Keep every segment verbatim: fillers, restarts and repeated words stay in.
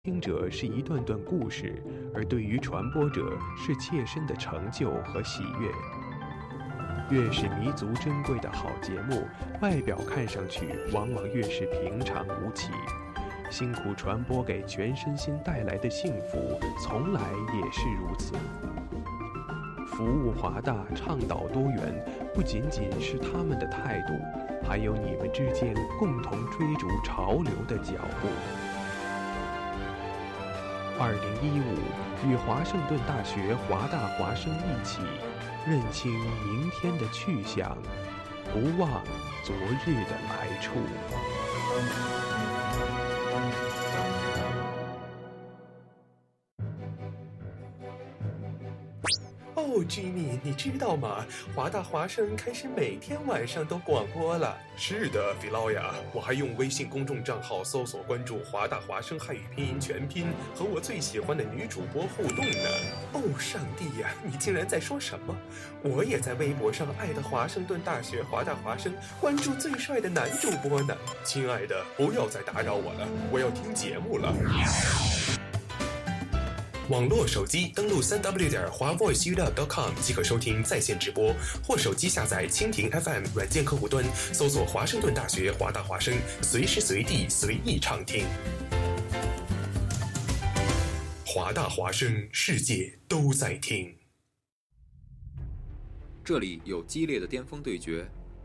听者是一段段故事，而对于传播者是切身的成就和喜悦。越是弥足珍贵的好节目，外表看上去往往越是平常无奇。辛苦传播给全身心带来的幸福，从来也是如此。服务华大，倡导多元，不仅仅是他们的态度，还有你们之间共同追逐潮流的脚步。二零一五，与华盛顿大学华大华生一起，认清明天的去向，不忘昨日的来处。 哦 ，Jimmy， 你知道吗？华大华生开始每天晚上都广播了。是的，菲劳呀，我还用微信公众账号搜索关注华大华生汉语拼音全拼，和我最喜欢的女主播互动呢。哦，上帝呀，你竟然在说什么？我也在微博上爱的华盛顿大学华大华生，关注最帅的男主播呢。亲爱的，不要再打扰我了，我要听节目了。网络手机登录 三 w 点华 voice u w 点 com 即可收听在线直播，或手机下载蜻蜓 F M 软件客户端，搜索华盛顿大学华大华生，随时随地随意畅听。华大华生，世界都在听。 这里有激烈的巅峰对决，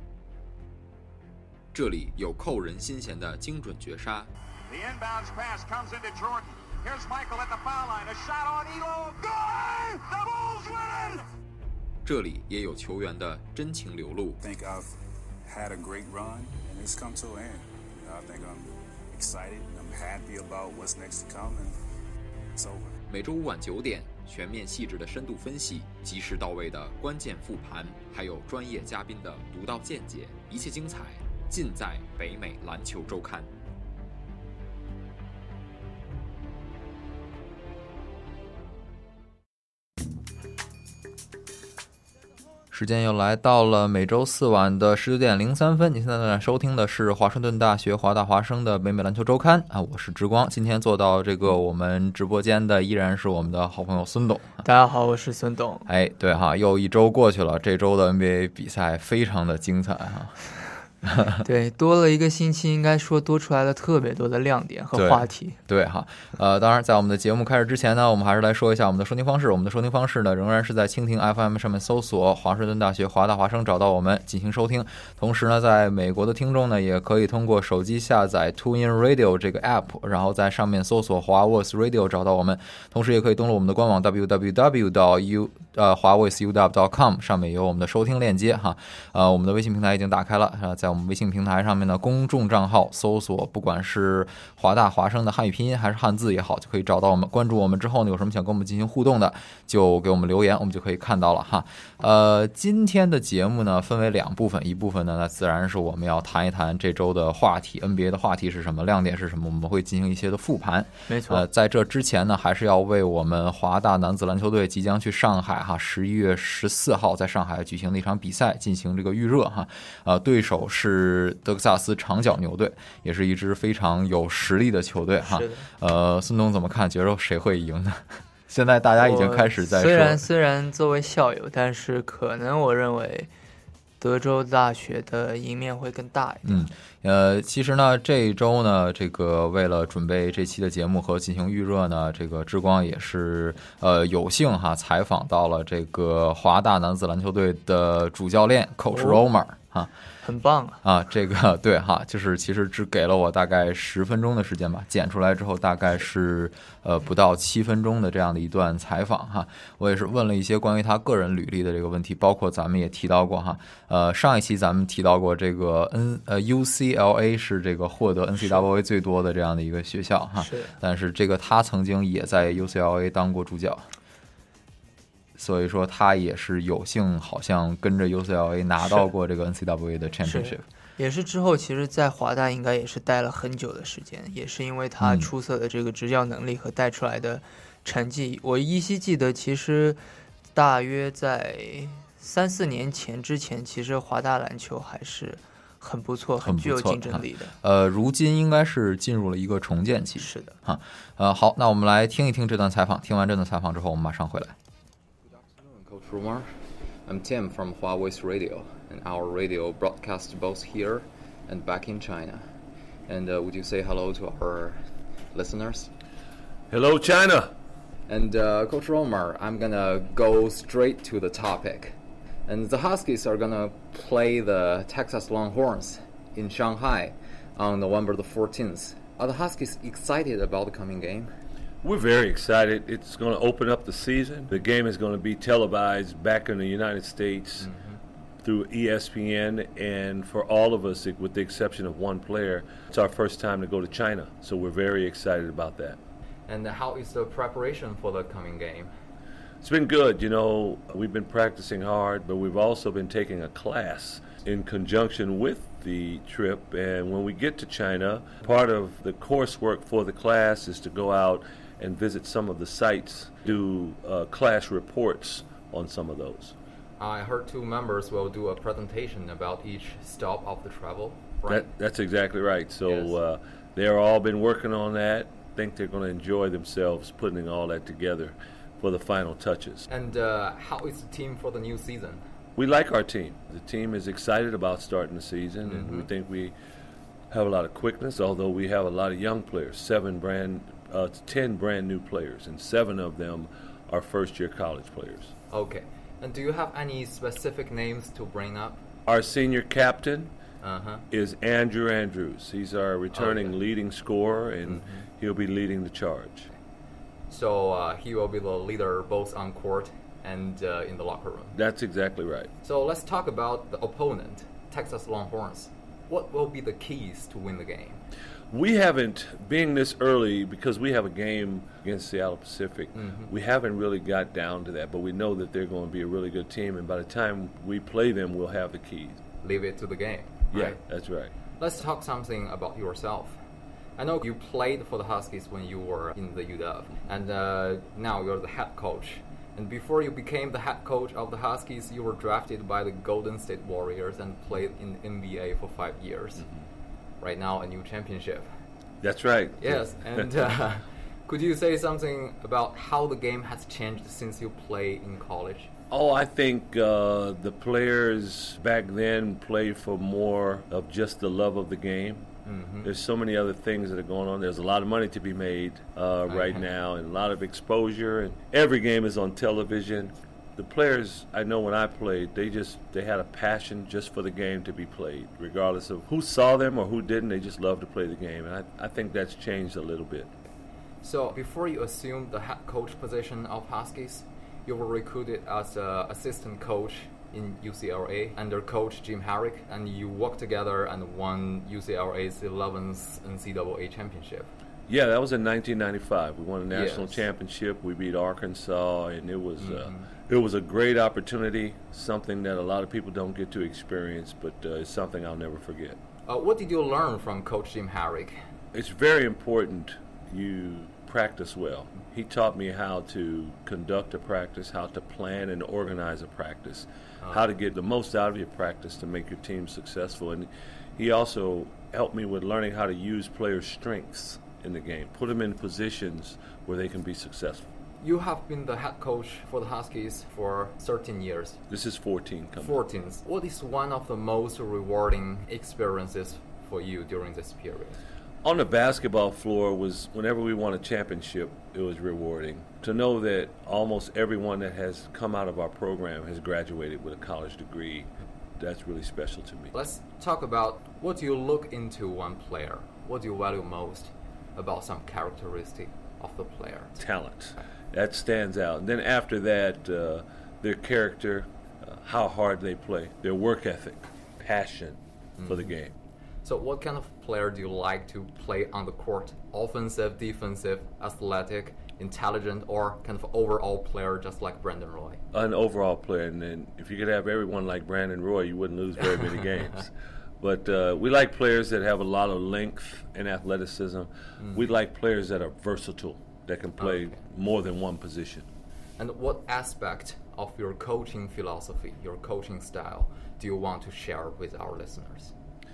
这里有扣人心弦的精准绝杀。 The inbounds pass comes into Jordan.Here's Michael at the foul line. A shot on Elo. Good! The Bulls win! 这里也有球员的真情流露。 I think I've had a great run, and it's come to an end. I think I'm excited. I'm happy about what's next to come, and it's over. 每周五晚九点，全面细致的深度分析，及时到位的关键复盘，还有专业嘉宾的独到见解，一切精彩尽在北美篮球周刊。时间又来到了每周四晚的十九点零三分，你现在在收听的是华盛顿大学华大华生的北美篮球周刊啊，我是之光。今天做到这个我们直播间的依然是我们的好朋友孙董。 大家好，我是孙董。 哎，对哈，又一周过去了，这周的 N B A 比赛非常的精彩哈。 对，多了一个星期，应该说多出来了特别多的亮点和话题。 对, 对哈，呃，当然，在我们的节目开始之前呢，我们还是来说一下我们的收听方式。我们的收听方式呢，仍然是在蜻蜓 F M 上面搜索华盛顿大学华大华生，找到我们进行收听。同时呢，在美国的听众呢，也可以通过手机下载 TuneIn Radio 这个 App， 然后在上面搜索华 Voice Radio 找到我们。同时，也可以登录我们的官网 double-u double-u double-u 点 u 呃华 voice u w 点 com， 上面有我们的收听链接哈。呃，我们的微信平台已经打开了，呃，在我们微信平台上面呢，公众账号搜索不管是华大华生的汉语拼音还是汉字也好，就可以找到我们。关注我们之后呢，有什么想跟我们进行互动的，就给我们留言，我们就可以看到了哈。呃，今天的节目呢分为两部分，一部分呢那自然是我们要谈一谈这周的话题 ，N B A 的话题是什么，亮点是什么，我们会进行一些的复盘。 没错。 呃，在这之前呢，还是要为我们华大男子篮球队即将去上海哈，十一月十四号在上海举行的一场比赛进行这个预热哈。呃，对手是德克萨斯长角牛队，也是一支非常有实力的球队哈。呃，孙总怎么看？觉得谁会赢呢？现在大家已经开始在说， 虽然虽然作为校友，但是可能我认为德州大学的赢面会更大一点。 嗯，呃，其实呢，这一周呢，这个为了准备这期的节目和进行预热呢，这个之光也是呃有幸哈采访到了这个华大男子篮球队的主教练 Coach Romer 哈。 很棒啊！ 啊，这个对哈，就是其实只给了我大概十分钟的时间吧，剪出来之后大概是呃不到七分钟的这样的一段采访哈。我也是问了一些关于他个人履历的这个问题，包括咱们也提到过哈，呃上一期咱们提到过这个 N 呃 U C L A 是这个获得 N C double A 最多的这样的一个学校哈， 是， 但是这个他曾经也在 U C L A 当过助教。所以说他也是有幸好像跟着 U C L A 拿到过这个 N C double A 的 championship， 也是之后其实在华大应该也是待了很久的时间，也是因为他出色的这个执教能力和带出来的成绩、嗯、我依稀记得其实大约在三四年前之前，其实华大篮球还是很不错， 很具有竞争力的。 呃，如今应该是进入了一个重建期。 是的， 哈，呃，好，那我们来听一听这段采访。听完这段采访之后，我们马上回来。 Good afternoon, Coach Rumar. I'm Tim from Huawei's Radio, and our radio broadcasts both here and back in China. And uh, would you say hello to our listeners? Hello, China. And uh, Coach Rumar, I'm gonna go straight to the topic. And the Huskies are gonna play the Texas Longhorns in Shanghai on November the fourteenth. Are the Huskies excited about the coming game? We're very excited. It's going to open up the season. The game is going to be televised back in the United States mm-hmm. through E S P N, and for all of us, with the exception of one player, it's our first time to go to China. So we're very excited about that. And how is the preparation for the coming game? It's been good. You know, we've been practicing hard, but we've also been taking a class in conjunction with the trip. And when we get to China, part of the coursework for the class is to go out and visit some of the sites, do uh, class reports on some of those. I heard two members will do a presentation about each stop of the travel, right? That, that's exactly right. So yes. uh, they're all been working on that. I think they're going to enjoy themselves putting all that together for the final touches. And uh, how is the team for the new season? We like our team. The team is excited about starting the season, mm-hmm. and we think we have a lot of quickness, although we have a lot of young players, seven brand, uh, ten brand new players, and seven of them are first-year college players. Okay. And do you have any specific names to bring up? Our senior captain uh-huh. is Andrew Andrews. He's our returning okay. leading scorer, and mm-hmm. he'll be leading the charge. So uh, he will be the leader both on court and uh, in the locker room. That's exactly right. So let's talk about the opponent, Texas Longhorns. What will be the keys to win the game? We haven't, being this early, because we have a game against Seattle Pacific, mm-hmm. we haven't really got down to that, but we know that they're going to be a really good team, and by the time we play them, we'll have the keys. Leave it to the game, right? Yeah, that's right. Let's talk something about yourself. I know you played for the Huskies when you were in the U W, and uh, now you're the head coach. And before you became the head coach of the Huskies, you were drafted by the Golden State Warriors and played in the N B A for five years. Mm-hmm. Right now, a new championship. That's right. Yes, and uh, could you say something about how the game has changed since you played in college? Oh, I think uh, the players back then played for more of just the love of the game. Mm-hmm. There's so many other things that are going on. There's a lot of money to be made uh, right uh-huh. now, and a lot of exposure. And every game is on television. The players, I know when I played, they just they had a passion just for the game to be played, regardless of who saw them or who didn't. They just loved to play the game, and I, I think that's changed a little bit. So before you assumed the head coach position of Huskies, you were recruited as an assistant coach in U C L A under coach Jim Harrick, and you worked together and won U C L A's eleventh N C double A championship. Yeah, that was in nineteen ninety-five. We won a national yes. championship. We beat Arkansas, and it was mm-hmm. uh, it was a great opportunity, something that a lot of people don't get to experience, but uh, it's something I'll never forget. Uh, what did you learn from Coach Jim Harrick? It's very important you practice well. He taught me how to conduct a practice, how to plan and organize a practice, uh, how to get the most out of your practice to make your team successful. And he also helped me with learning how to use players' strengths in the game, put them in positions where they can be successful. You have been the head coach for the Huskies for thirteen years. This is fourteen. Coming. fourteen. What is one of the most rewarding experiences for you during this period? On the basketball floor was whenever we won a championship, it was rewarding. To know that almost everyone that has come out of our program has graduated with a college degree, that's really special to me. Let's talk about what you look into one player. What do you value most about some characteristic of the player? Talent. That stands out. And then after that, uh, their character, uh, how hard they play, their work ethic, passion mm-hmm. for the game. So what kind of player do you like to play on the court? Offensive, defensive, athletic, intelligent, or kind of overall player just like Brandon Roy? An overall player. And then if you could have everyone like Brandon Roy, you wouldn't lose very many games. But uh, we like players that have a lot of length and athleticism. Mm. We like players that are versatile, that can play okay. more than one position. And what aspect of your coaching philosophy, your coaching style, do you want to share with our listeners?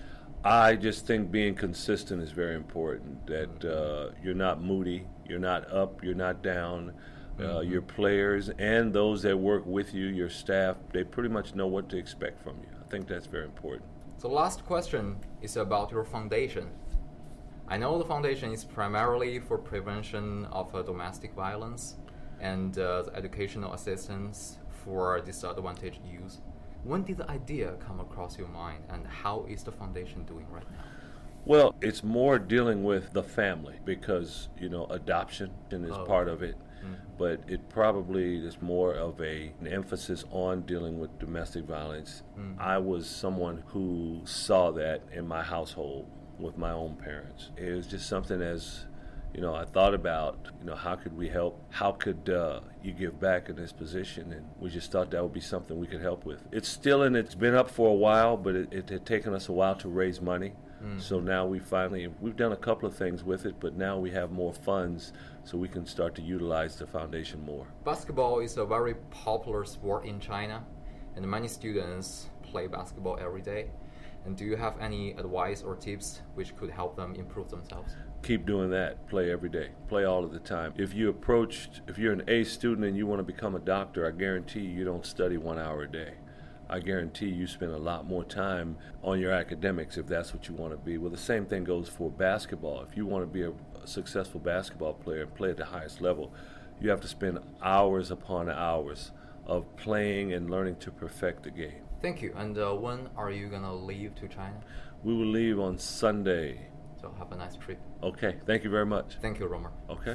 I just think being consistent is very important, that uh, you're not moody, you're not up, you're not down. Uh, mm-hmm. Your players and those that work with you, your staff, they pretty much know what to expect from you. I think that's very important. The last question is about your foundation. I know the foundation is primarily for prevention of uh, domestic violence and uh, the educational assistance for disadvantaged youth. When did the idea come across your mind, and how is the foundation doing right now? Well, it's more dealing with the family because, you know, adoption is oh. part of it. Mm. But it probably is more of a, an emphasis on dealing with domestic violence. Mm. I was someone who saw that in my household with my own parents. It was just something as, you know, I thought about, you know, how could we help? How could uh, you give back in this position? And we just thought that would be something we could help with. It's still in, it's been up for a while, but it, it had taken us a while to raise money. Mm. So now we finally, we've done a couple of things with it, but now we have more funds so we can start to utilize the foundation more. Basketball is a very popular sport in China, and many students play basketball every day. And do you have any advice or tips which could help them improve themselves? Keep doing that. Play every day. Play all of the time. If you approached, if you're an A student and you want to become a doctor, I guarantee you, you don't study one hour a day. I guarantee you spend a lot more time on your academics if that's what you want to be. Well, the same thing goes for basketball. If you want to be a, a successful basketball player and play at the highest level, you have to spend hours upon hours of playing and learning to perfect the game. Thank you. And uh, when are you going to leave to China? We will leave on Sunday. So have a nice trip. Okay. Thank you very much. Thank you, Romer. Okay.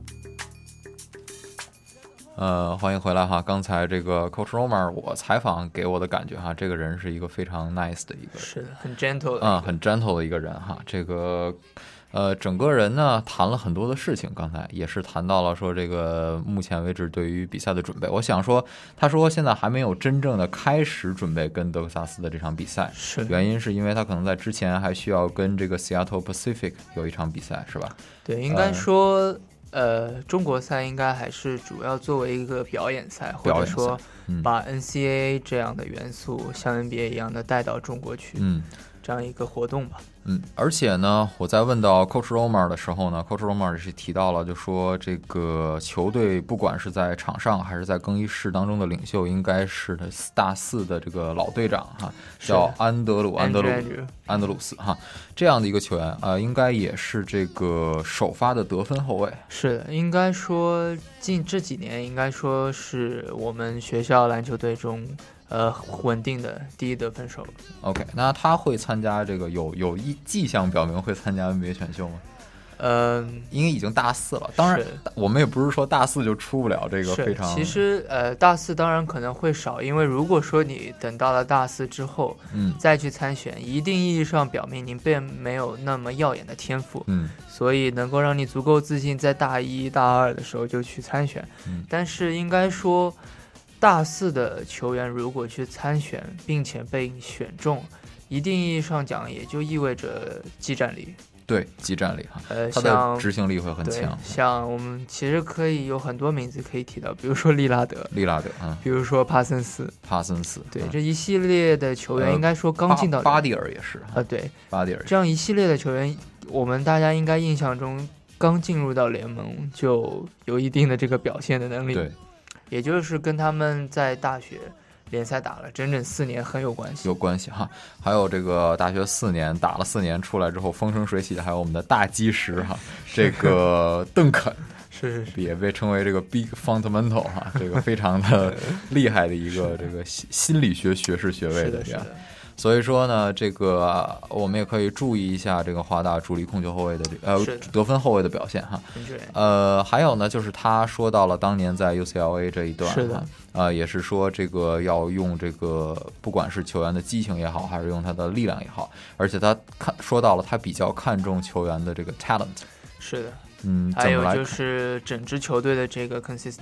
呃，欢迎回来哈！刚才这个 Coach Romer 我采访给我的感觉哈，这个人是一个非常 nice 的一个， 是的，很 gentle 的， 啊、嗯，很 gentle 的一个人哈。这个呃，整个人呢谈了很多的事情，刚才也是谈到了说这个目前为止对于比赛的准备。我想说，他说现在还没有真正的开始准备跟德克萨斯的这场比赛， 是原因是因为他可能在之前还需要跟这个 Seattle Pacific 有一场比赛，是吧？ 对，应该说。呃呃，中国赛应该还是主要作为一个表演赛，或者说把 N C A A 这样的元素像 N B A 一样的带到中国去，嗯，这样一个活动吧。 嗯，而且呢，我在问到 Coach Romer 的时候呢 ，Coach Romer 是提到了，就说这个球队不管是在场上还是在更衣室当中的领袖，应该是的大四的这个老队长哈，叫安德鲁安德鲁安德鲁斯哈，这样的一个球员啊、呃，应该也是这个首发的得分后卫。 是的，应该说近这几年应该说是我们学校篮球队中。呃，稳定的第一得分手。 OK， 那他会参加这个有有一迹象表明会参加 N B A 选秀吗？ 呃， 因为已经大四了，当然我们也不是说大四就出不了这个非常。 其实呃，大四当然可能会少，因为如果说你等到了大四之后，嗯，再去参选，一定意义上表明您并没有那么耀眼的天赋，嗯，所以能够让你足够自信，在大一大二的时候就去参选。嗯，但是应该说。大四的球员如果去参选并且被选中，一定意义上讲也就意味着技战力。 对，技战力哈， 呃， 他的执行力会很强。 像我们其实可以有很多名字可以提到，比如说利拉德， 利拉德，嗯， 比如说帕森斯， 帕森斯， 对，嗯、这一系列的球员应该说刚进到、呃、 巴蒂尔也是啊、 呃，对， 巴蒂尔这样一系列的球员，我们大家应该印象中刚进入到联盟就有一定的这个表现的能力。 对。 也就是跟他们在大学联赛打了整整四年很有关系， 有关系哈。还有这个大学四年打了四年出来之后风生水起的，还有我们的大基石哈，这个邓肯是是是， 也被称为这个 Big Fundamental 哈，这个非常的厉害的一个这个心理学学士学位的这样。所以说呢，这个我们也可以注意一下这个华大主力控球后卫的呃得分后卫的表现哈。呃，还有呢，就是他说到了当年在 U C L A 这一段， 是的， 呃，也是说这个要用这个不管是球员的激情也好，还是用他的力量也好，而且他看说到了他比较看重球员的这个 talent。 是的， 嗯， 还有就是整支球队的这个 consistent。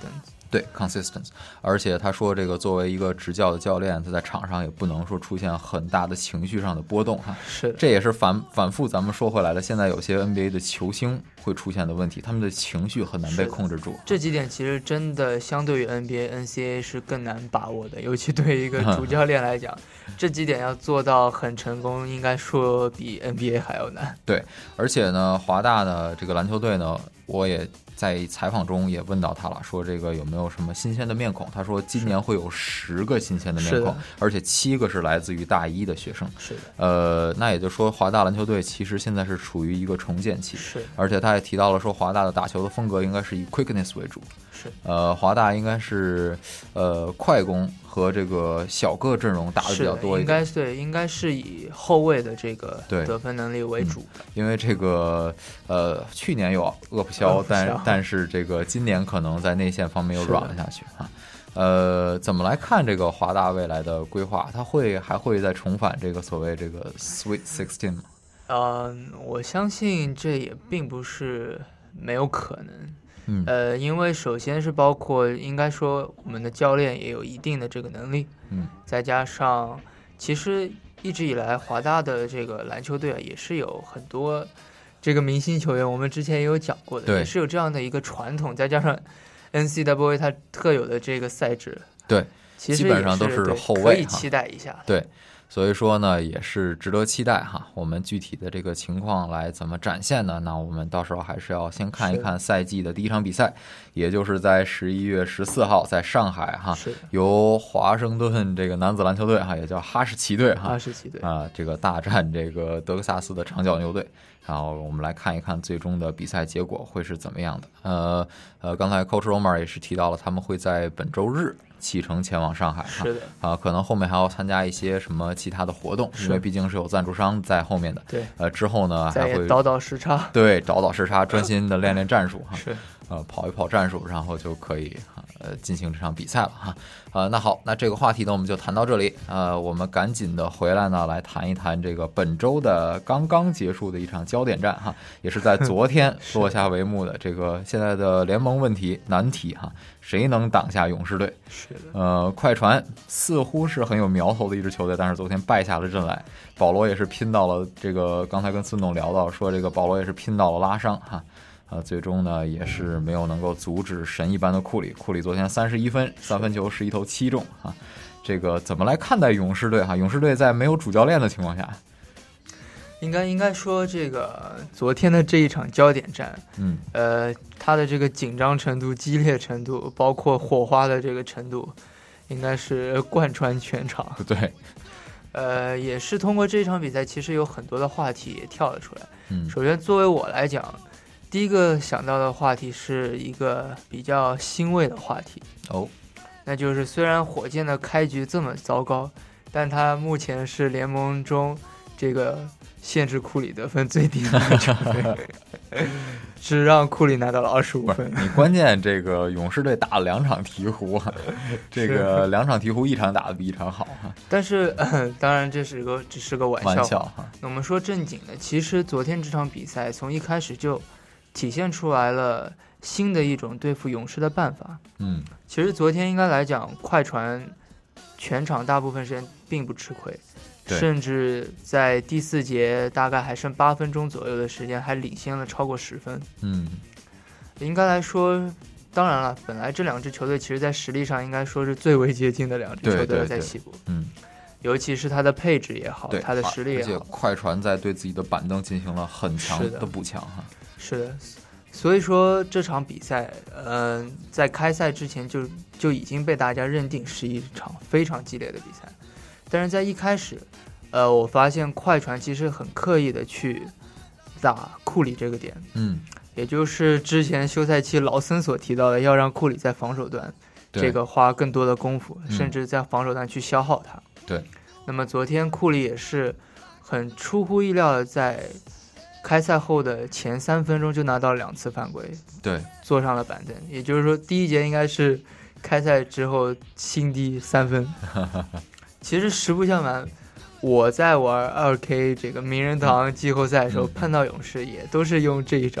对 ，consistent， 而且他说这个作为一个执教的教练，他在场上也不能说出现很大的情绪上的波动哈。 是， 这也是反反复咱们说回来了，现在有些 N B A 的球星会出现的问题，他们的情绪很难被控制住。 这几点其实真的相对于 N B A、N C A A 是更难把握的，尤其对于一个主教练来讲，这几点要做到很成功，应该说比 N B A 还要难。 对，而且呢，华大的这个篮球队呢，我也在采访中也问到他了，说这个有没有什么新鲜的面孔？他说今年会有十个新鲜的面孔，而且七个是来自于大一的学生。 是的， 呃，那也就是说华大篮球队其实现在是处于一个重建期。 是， 而且他也提到了说华大的打球的风格应该是以 quickness 为主。 是， 呃，华大应该是呃快攻和这个小个阵容打的比较多一点， 应该对，应该是以后卫的这个得分能力为主。 嗯、因为这个呃去年有厄普肖，但但是这个今年可能在内线方面又软了下去啊。呃，怎么来看这个华大未来的规划？他会还会再重返这个所谓这个 Sweet Sixteen 吗？ 呃，我相信这也并不是没有可能。 嗯， 呃，因为首先是包括应该说我们的教练也有一定的这个能力， 嗯， 再加上其实一直以来华大的这个篮球队啊也是有很多这个明星球员，我们之前也有讲过的，也是有这样的一个传统，再加上 N C A A 它特有的这个赛制， 对， 其实基本上都是后卫， 可以期待一下， 对。所以说呢，也是值得期待哈。我们具体的这个情况来怎么展现呢？那我们到时候还是要先看一看赛季的第一场比赛，也就是在十一月十四号在上海哈，由华盛顿这个男子篮球队哈，也叫哈士奇队哈， 哈士奇队啊，这个大战这个德克萨斯的长脚牛队。然后我们来看一看最终的比赛结果会是怎么样的。呃呃，刚才 Coach Romer 也是提到了，他们会在本周日启程前往上海， 是的啊，可能后面还要参加一些什么其他的活动，因为毕竟是有赞助商在后面的。 对， 呃，之后呢还会倒倒时差， 对，倒倒时差，专心的练练战术哈， 是， 呃，跑一跑战术，然后就可以呃进行这场比赛了哈。呃，那好，那这个话题呢我们就谈到这里，呃，我们赶紧的回来呢来谈一谈这个本周的刚刚结束的一场焦点战哈，也是在昨天落下帷幕的这个现在的联盟问题难题哈，谁能挡下勇士队？ 是的， 呃，快船似乎是很有苗头的一支球队，但是昨天败下了阵来。保罗也是拼到了这个，刚才跟孙总聊到说，这个保罗也是拼到了拉伤哈，呃，最终呢也是没有能够阻止神一般的库里。库里昨天三十一分，三分球十一投七中啊。这个怎么来看待勇士队哈？勇士队在没有主教练的情况下， 应该应该说这个昨天的这一场焦点战， 嗯， 呃，它的这个紧张程度、激烈程度，包括火花的这个程度，应该是贯穿全场。 对， 呃，也是通过这场比赛，其实有很多的话题也跳了出来。 嗯， 首先作为我来讲，第一个想到的话题是一个比较欣慰的话题哦， 那就是虽然火箭的开局这么糟糕，但他目前是联盟中这个限制库里得分最低的一个球队，只让库里拿到了二十五分。 你关键这个勇士队打了两场鹈鹕，这个两场鹈鹕一场打得比一场好。 但是、呃、当然这是个只是个玩笑。 玩笑那我们说正经的，其实昨天这场比赛从一开始就体现出来了新的一种对付勇士的办法。 嗯， 其实昨天应该来讲，快船全场大部分时间并不吃亏。甚至在第四节大概还剩八分钟左右的时间，还领先了超过十分。 嗯， 应该来说，当然了，本来这两支球队其实在实力上应该说是最为接近的两支球队在西部。 嗯， 尤其是它的配置也好，它的实力也好。 而且快船在对自己的板凳进行了很强的补强哈。 是的，所以说这场比赛，嗯、呃，在开赛之前就就已经被大家认定是一场非常激烈的比赛。但是在一开始，呃，我发现快船其实很刻意的去打库里这个点， 嗯， 也就是之前休赛期劳森所提到的，要让库里在防守端这个花更多的功夫，甚至在防守端去消耗他。 对。 那么昨天库里也是很出乎意料的，在开赛后的前三分钟就拿到两次犯规， 对， 坐上了板凳。也就是说，第一节应该是开赛之后新低三分。其实实不相瞒，我在玩 二 K 这个名人堂季后赛的时候、嗯、碰到勇士也都是用这一招，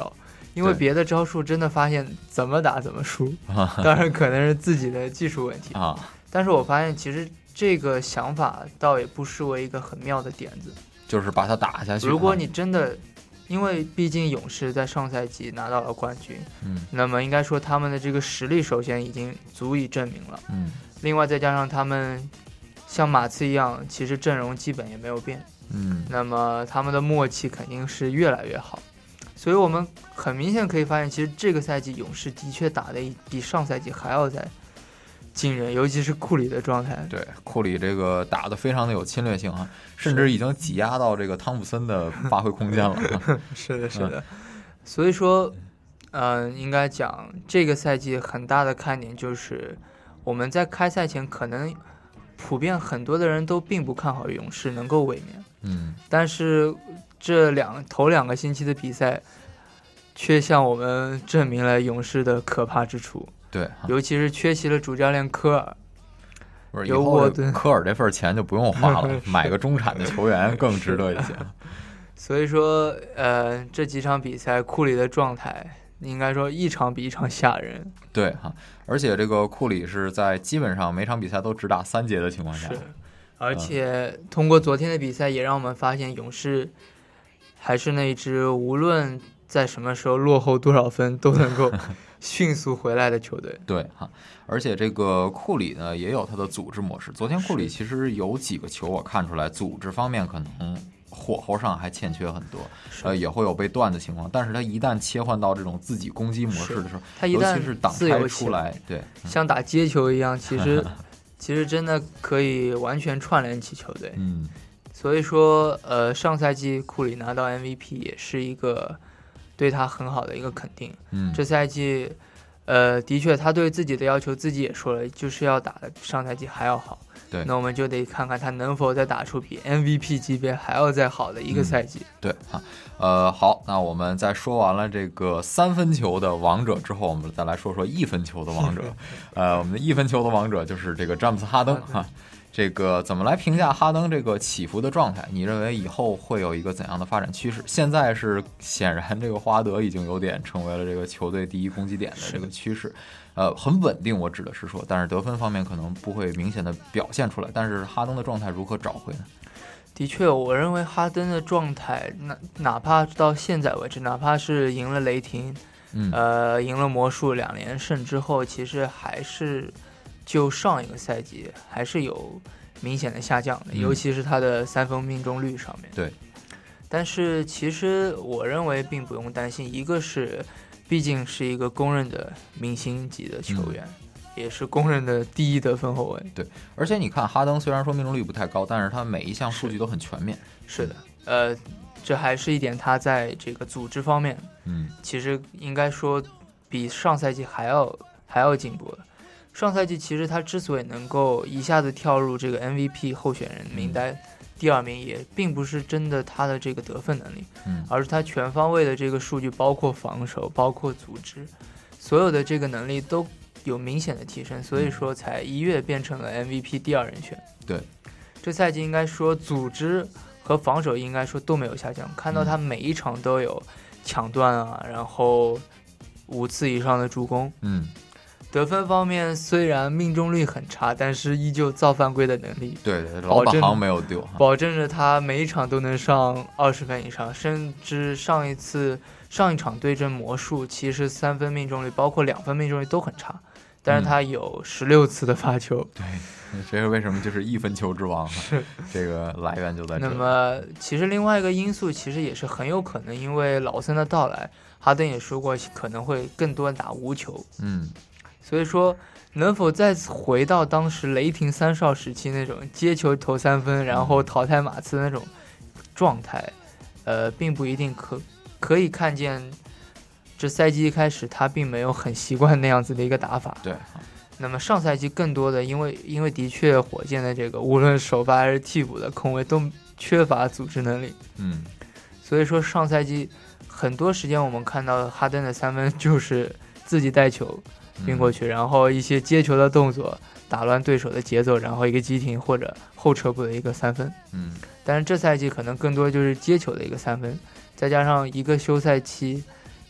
因为别的招数真的发现怎么打怎么输，当然可能是自己的技术问题啊。 但是我发现其实这个想法倒也不失为一个很妙的点子， 就是把它打下去。 如果你真的，因为毕竟勇士在上赛季拿到了冠军， 嗯， 那么应该说他们的这个实力首先已经足以证明了， 嗯， 另外再加上他们像马刺一样，其实阵容基本也没有变， 嗯， 那么他们的默契肯定是越来越好。所以我们很明显可以发现，其实这个赛季勇士的确打得比上赛季还要再惊人，尤其是库里的状态。 对，库里这个打得非常的有侵略性啊，甚至已经挤压到这个汤普森的发挥空间了。 是的，是的。嗯、所以说，嗯、呃，应该讲这个赛季很大的看点就是我们在开赛前可能普遍很多的人都并不看好勇士能够卫冕， 嗯， 但是这两头两个星期的比赛却向我们证明了勇士的可怕之处。 对， 尤其是缺席了主教练科尔， 不是以后科尔这份钱就不用花了，买个中产的球员更值得一些。 所以说，呃，这几场比赛库里的状态应该说一场比一场吓人。 对哈，而且这个库里是在基本上每场比赛都只打三节的情况下， 是，而且通过昨天的比赛也让我们发现勇士还是那支无论在什么时候落后多少分都能够迅速回来的球队。 对哈，而且这个库里呢也有他的组织模式。昨天库里其实有几个球我看出来，组织方面可能火候上还欠缺很多，呃，也会有被断的情况。但是他一旦切换到这种自己攻击模式的时候， 他一旦尤其是挡拆出来，对， 像打接球一样，其实其实真的可以完全串联起球队。 嗯， 所以说，呃，上赛季库里拿到 M V P 也是一个对他很好的一个肯定。 嗯， 这赛季，呃，的确他对自己的要求自己也说了，就是要打得上赛季还要好。 对， 那我们就得看看他能否再打出比 M V P 级别还要再好的一个赛季。 嗯、对啊，呃，好，那我们在说完了这个三分球的王者之后，我们再来说说一分球的王者。呃，我们的一分球的王者就是这个詹姆斯哈登哈。这个怎么来评价哈登这个起伏的状态？你认为以后会有一个怎样的发展趋势？现在是显然这个霍华德已经有点成为了这个球队第一攻击点的这个趋势，呃，很稳定，我指的是说，但是得分方面可能不会明显的表现出来。但是哈登的状态如何找回呢？ 的确，我认为哈登的状态，哪哪怕到现在为止，哪怕是赢了雷霆， 嗯， 呃，赢了魔术两连胜之后，其实还是。就上一个赛季还是有明显的下降的， 嗯、 尤其是他的三分命中率上面。 对， 但是其实我认为并不用担心，一个是毕竟是一个公认的明星级的球员，嗯、也是公认的第一得分后卫。 对，而且你看哈登虽然说命中率不太高，但是他每一项数据都很全面。 是的，呃，这还是一点他在这个组织方面， 嗯， 其实应该说比上赛季还要还要进步了。上赛季其实他之所以能够一下子跳入这个 M V P 候选人名单第二名，也并不是真的他的这个得分能力， 嗯， 而是他全方位的这个数据，包括防守，包括组织，所有的这个能力都有明显的提升，所以说才一跃变成了 M V P 第二人选。 对， 这赛季应该说组织和防守应该说都没有下降，看到他每一场都有抢断啊，然后五次以上的助攻， 嗯。 得分方面虽然命中率很差，但是依旧造犯规的能力， 对对，老本行没有丢， 保证着他每一场都能上二十分以上，甚至上一次上一场对阵魔术，其实三分命中率包括两分命中率都很差，但是他有十六次的罚球， 嗯、对，这是为什么就是一分球之王， 是这个来源就在这。 那么其实另外一个因素其实也是很有可能，因为老森的到来，哈登也说过可能会更多打无球， 嗯。 所以说，能否再次回到当时雷霆三少时期那种接球投三分，然后淘汰马刺那种状态，呃，并不一定可可以看见。这赛季一开始，他并没有很习惯那样子的一个打法。 对。 那么上赛季更多的，因为因为的确火箭的这个无论首发还是替补的控卫都缺乏组织能力。 嗯。 所以说上赛季很多时间我们看到哈登的三分就是自己带球。运过去，然后一些接球的动作打乱对手的节奏，然后一个急停或者后撤步的一个三分。 嗯， 但是这赛季可能更多就是接球的一个三分，再加上一个休赛期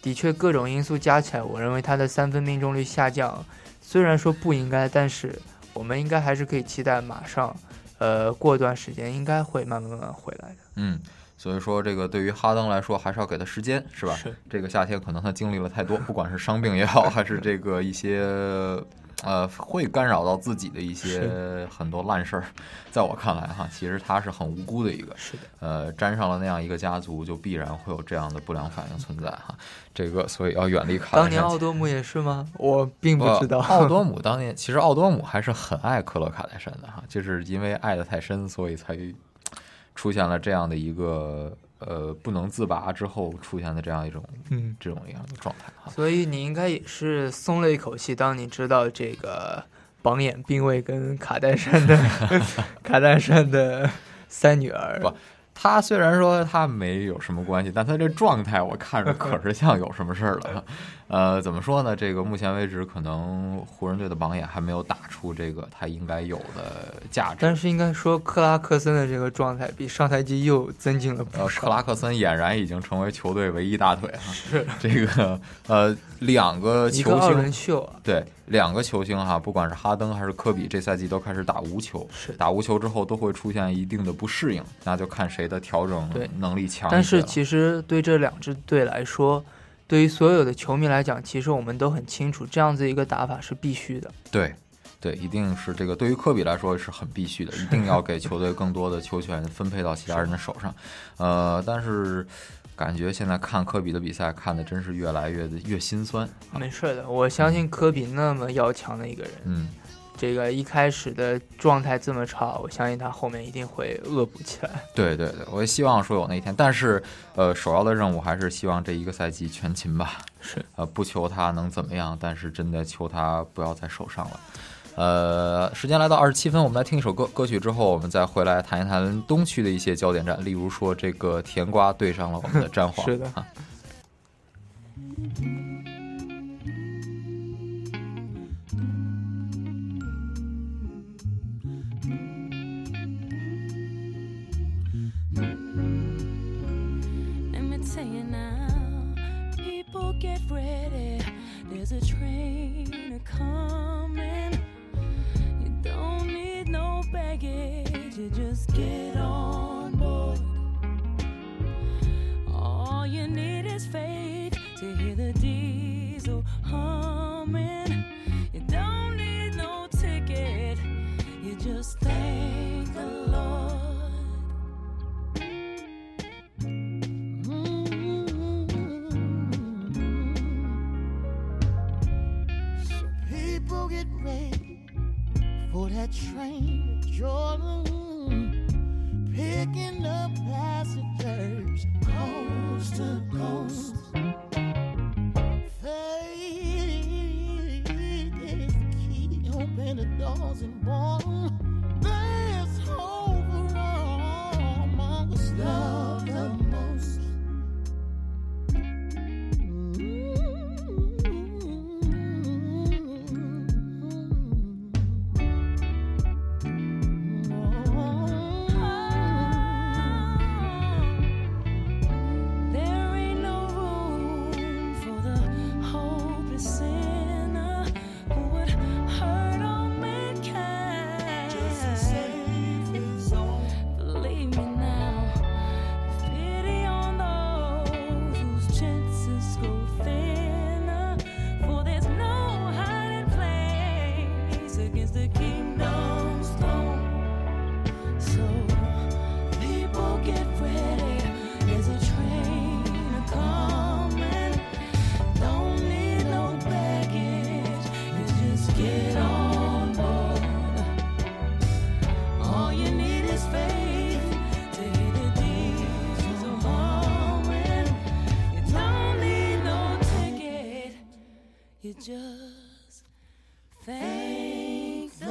的确各种因素加起来，我认为他的三分命中率下降，虽然说不应该，但是我们应该还是可以期待马上，呃，过段时间应该会慢慢慢慢回来的。 嗯。所以说，这个对于哈登来说，还是要给他时间，是吧？ 是。 这个夏天可能他经历了太多，不管是伤病也好，还是这个一些呃会干扰到自己的一些很多烂事儿，在我看来哈，其实他是很无辜的一个。 是的。 呃，沾上了那样一个家族，就必然会有这样的不良反应存在哈。这个，所以要远离卡戴珊。 当年奥多姆也是吗？我并不知道。 奥多姆当年其实奥多姆还是很爱克罗卡戴珊的哈，就是因为爱得太深，所以才出现了这样的一个呃不能自拔之后出现的这样一种嗯这种一样的状态哈。 所以你应该也是松了一口气，当你知道这个榜眼并未跟卡戴珊的卡戴珊的三女儿。 不，他虽然说他没有什么关系，但他这状态我看着可是像有什么事儿了。呃，怎么说呢？这个目前为止，可能湖人队的榜眼还没有打出这个他应该有的价值。 但是应该说，克拉克森的这个状态比上赛季又增进了不少。 呃，克拉克森俨然已经成为球队唯一大腿哈。 是这个呃，两个球星，一个二轮秀啊。 对，两个球星哈，不管是哈登还是科比，这赛季都开始打无球。 是打无球之后都会出现一定的不适应，那就看谁的调整能力强一些。 但是其实对这两支队来说，对于所有的球迷来讲，其实我们都很清楚，这样子一个打法是必须的。 对，对，一定是这个。对于科比来说是很必须的，一定要给球队更多的球权分配到其他人的手上。呃，但是感觉现在看科比的比赛，看的真是越来越越心酸。 没事的，我相信科比那么要强的一个人， 嗯。 这个一开始的状态这么差，我相信他后面一定会恶补起来。 对对对，我也希望说有那一天，但是呃，首要的任务还是希望这一个赛季全勤吧。 是， 呃，不求他能怎么样，但是真的求他不要在手上了。呃，时间来到二十七分，我们来听一首歌歌曲之后，我们再回来谈一谈东区的一些焦点战，例如说这个甜瓜对上了我们的詹皇。 是的。 啊 Get ready, there's a train coming. You don't need no baggage, you just get on board. All you need is faith to hear the diesel humming. You don't need no ticket, you just thank the Lord. Get ready for that train to Jordan, picking up passengers coast to coast. Faith is the key, open the doors and born. There's hope for all among us love the most. Just thank the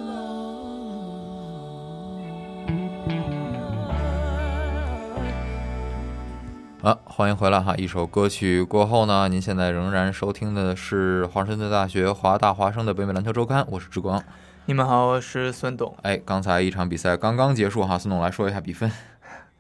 Lord. 啊，欢迎回来哈！一首歌曲过后呢，您现在仍然收听的是华盛顿大学华大华生的北美篮球周刊，我是志光。 你们好，我是孙董。 哎，刚才一场比赛刚刚结束哈，孙董来说一下比分。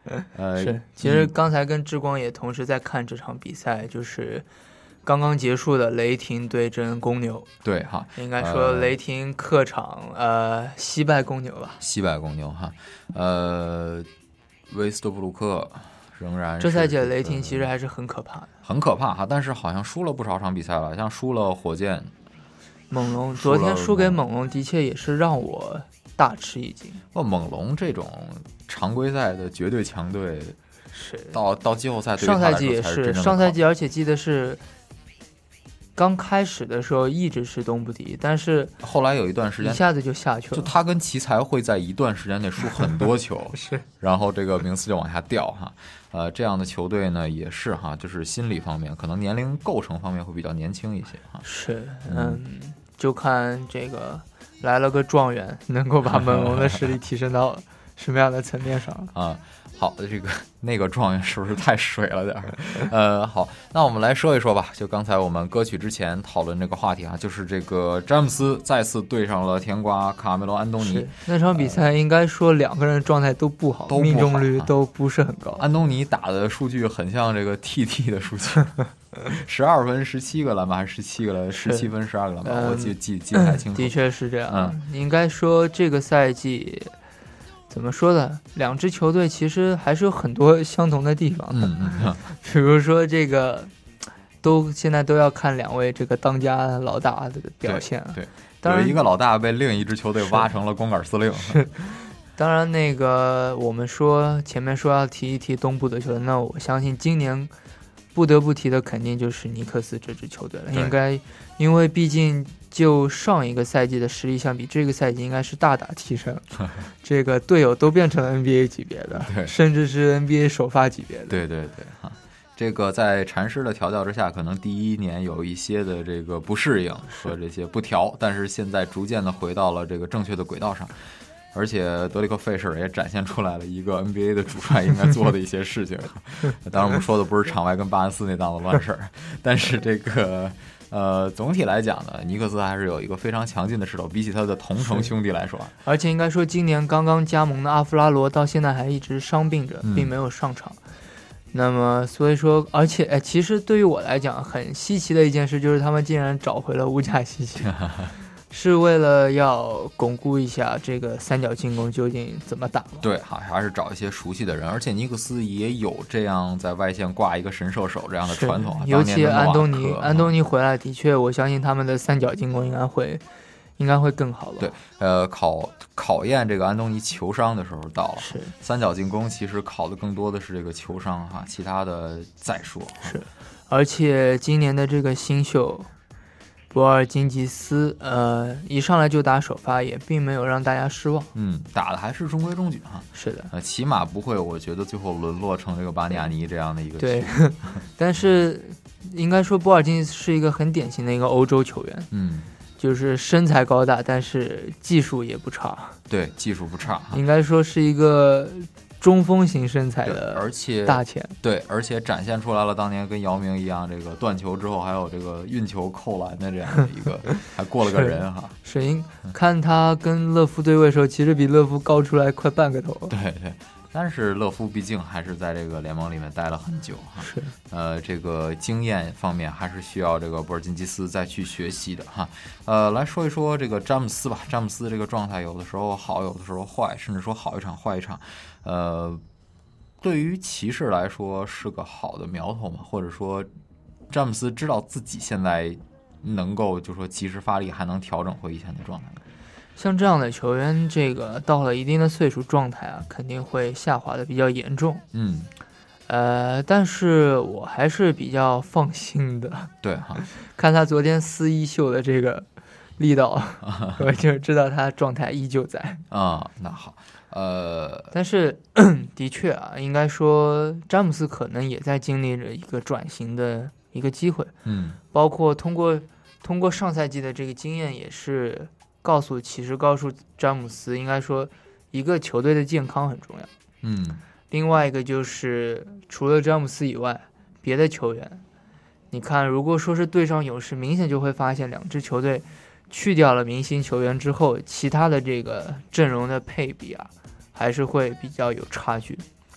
呃， 是，其实刚才跟之光也同时在看这场比赛，就是刚刚结束的雷霆对阵公牛。 对哈， 应该说雷霆客场呃惜败公牛吧。 惜败公牛哈，呃，威斯特布鲁克仍然是这赛季的雷霆其实还是很可怕的， 很可怕哈，但是好像输了不少场比赛了，像输了火箭、 猛龙，昨天输给猛龙的确也是让我大吃一惊。 不，猛龙这种常规赛的绝对强队， 是到到季后赛对于上赛他来说季也是， 才是真正的上赛季而且记得是刚开始的时候一直是东部第一，但是后来有一段时间一下子就下去了。 就他跟奇才会在一段时间内输很多球， 是， 然后这个名次就往下掉哈。呃，这样的球队呢也是哈，就是心理方面可能年龄构成方面会比较年轻一些哈。 是，嗯，就看这个来了个状元，能够把猛龙的实力提升到什么样的层面上啊？好，这个那个状元是不是太水了点儿？呃，好，那我们来说一说吧。就刚才我们歌曲之前讨论这个话题啊，就是这个詹姆斯再次对上了甜瓜卡梅罗安东尼。 那场比赛应该说两个人状态都不好， 都不好命中率都不是很高。 安东尼打的数据很像这个 T T 的数据，十二分十七个篮板还是十七个篮？十七分十二个篮板，我记记记不太清楚。 的确是这样。 嗯， 应该说这个赛季。怎么说呢？两支球队其实还是有很多相同的地方的， 嗯嗯， 比如说这个，都现在都要看两位这个当家老大的表现。 对，对当然有一个老大被另一支球队挖成了光杆司令。 是，当然那个我们说前面说要提一提东部的球队，那我相信今年不得不提的肯定就是尼克斯这支球队了，应该因为毕竟。就上一个赛季的实力相比，这个赛季应该是大大提升。这个队友都变成了 N B A 级别的，甚至是 N B A 首发级别的。 对对对，哈，这个在禅师的调教之下，可能第一年有一些的这个不适应和这些不调，但是现在逐渐的回到了这个正确的轨道上。而且德里克·费舍尔也展现出来了一个 N B A 的主帅应该做的一些事情。当然，我们说的不是场外跟巴恩斯那档子乱事儿，但是这个。呃，总体来讲呢，尼克斯还是有一个非常强劲的势头，比起他的同城兄弟来说。 而且应该说，今年刚刚加盟的阿弗拉罗到现在还一直伤病着， 嗯、 并没有上场。那么，所以说，而且，哎，其实对于我来讲，很稀奇的一件事就是他们竟然找回了乌贾西奇。是为了要巩固一下这个三角进攻究竟怎么打吗？ 对，还是找一些熟悉的人，而且尼克斯也有这样在外线挂一个神射手这样的传统。 尤其安东尼，安东尼回来的确，我相信他们的三角进攻应该会，应该会更好了。 对，呃，考考验这个安东尼球商的时候到了。 是， 三角进攻其实考的更多的是这个球商哈，其他的再说。 是，而且今年的这个新秀。博尔津吉斯，呃，一上来就打首发，也并没有让大家失望。 嗯，打的还是中规中矩哈。 是的， 呃，起码不会，我觉得最后沦落成这个巴尼亚尼这样的一个。 对，但是应该说博尔津吉斯是一个很典型的一个欧洲球员。 嗯， 就是身材高大，但是技术也不差。 对，技术不差。 应该说是一个。中锋型身材的， 而且大前对，而且展现出来了当年跟姚明一样，这个断球之后还有这个运球扣篮的这样的一个，还过了个人哈。 是，因看他跟勒夫对位的时候，其实比勒夫高出来快半个头。 对对，但是勒夫毕竟还是在这个联盟里面待了很久哈。 是， 呃，这个经验方面还是需要这个博尔津吉斯再去学习的哈。呃，来说一说这个詹姆斯吧，詹姆斯这个状态有的时候好，有的时候坏，甚至说好一场坏一场。呃，对于骑士来说是个好的苗头嘛，或者说詹姆斯知道自己现在能够就说及时发力，还能调整回以前的状态。 像这样的球员，这个到了一定的岁数，状态啊肯定会下滑的比较严重。 嗯， 呃，但是我还是比较放心的。 对哈， 看他昨天撕衣袖的这个力道，我就知道他状态依旧在。 啊、嗯，那好。呃， 但是的确啊，应该说詹姆斯可能也在经历着一个转型的一个机会， 嗯， 包括通过通过上赛季的这个经验，也是告诉其实告诉詹姆斯，应该说一个球队的健康很重要， 嗯， 另外一个就是除了詹姆斯以外，别的球员，你看，如果说是对上勇士，明显就会发现两支球队去掉了明星球员之后，其他的这个阵容的配比啊。还是会比较有差距。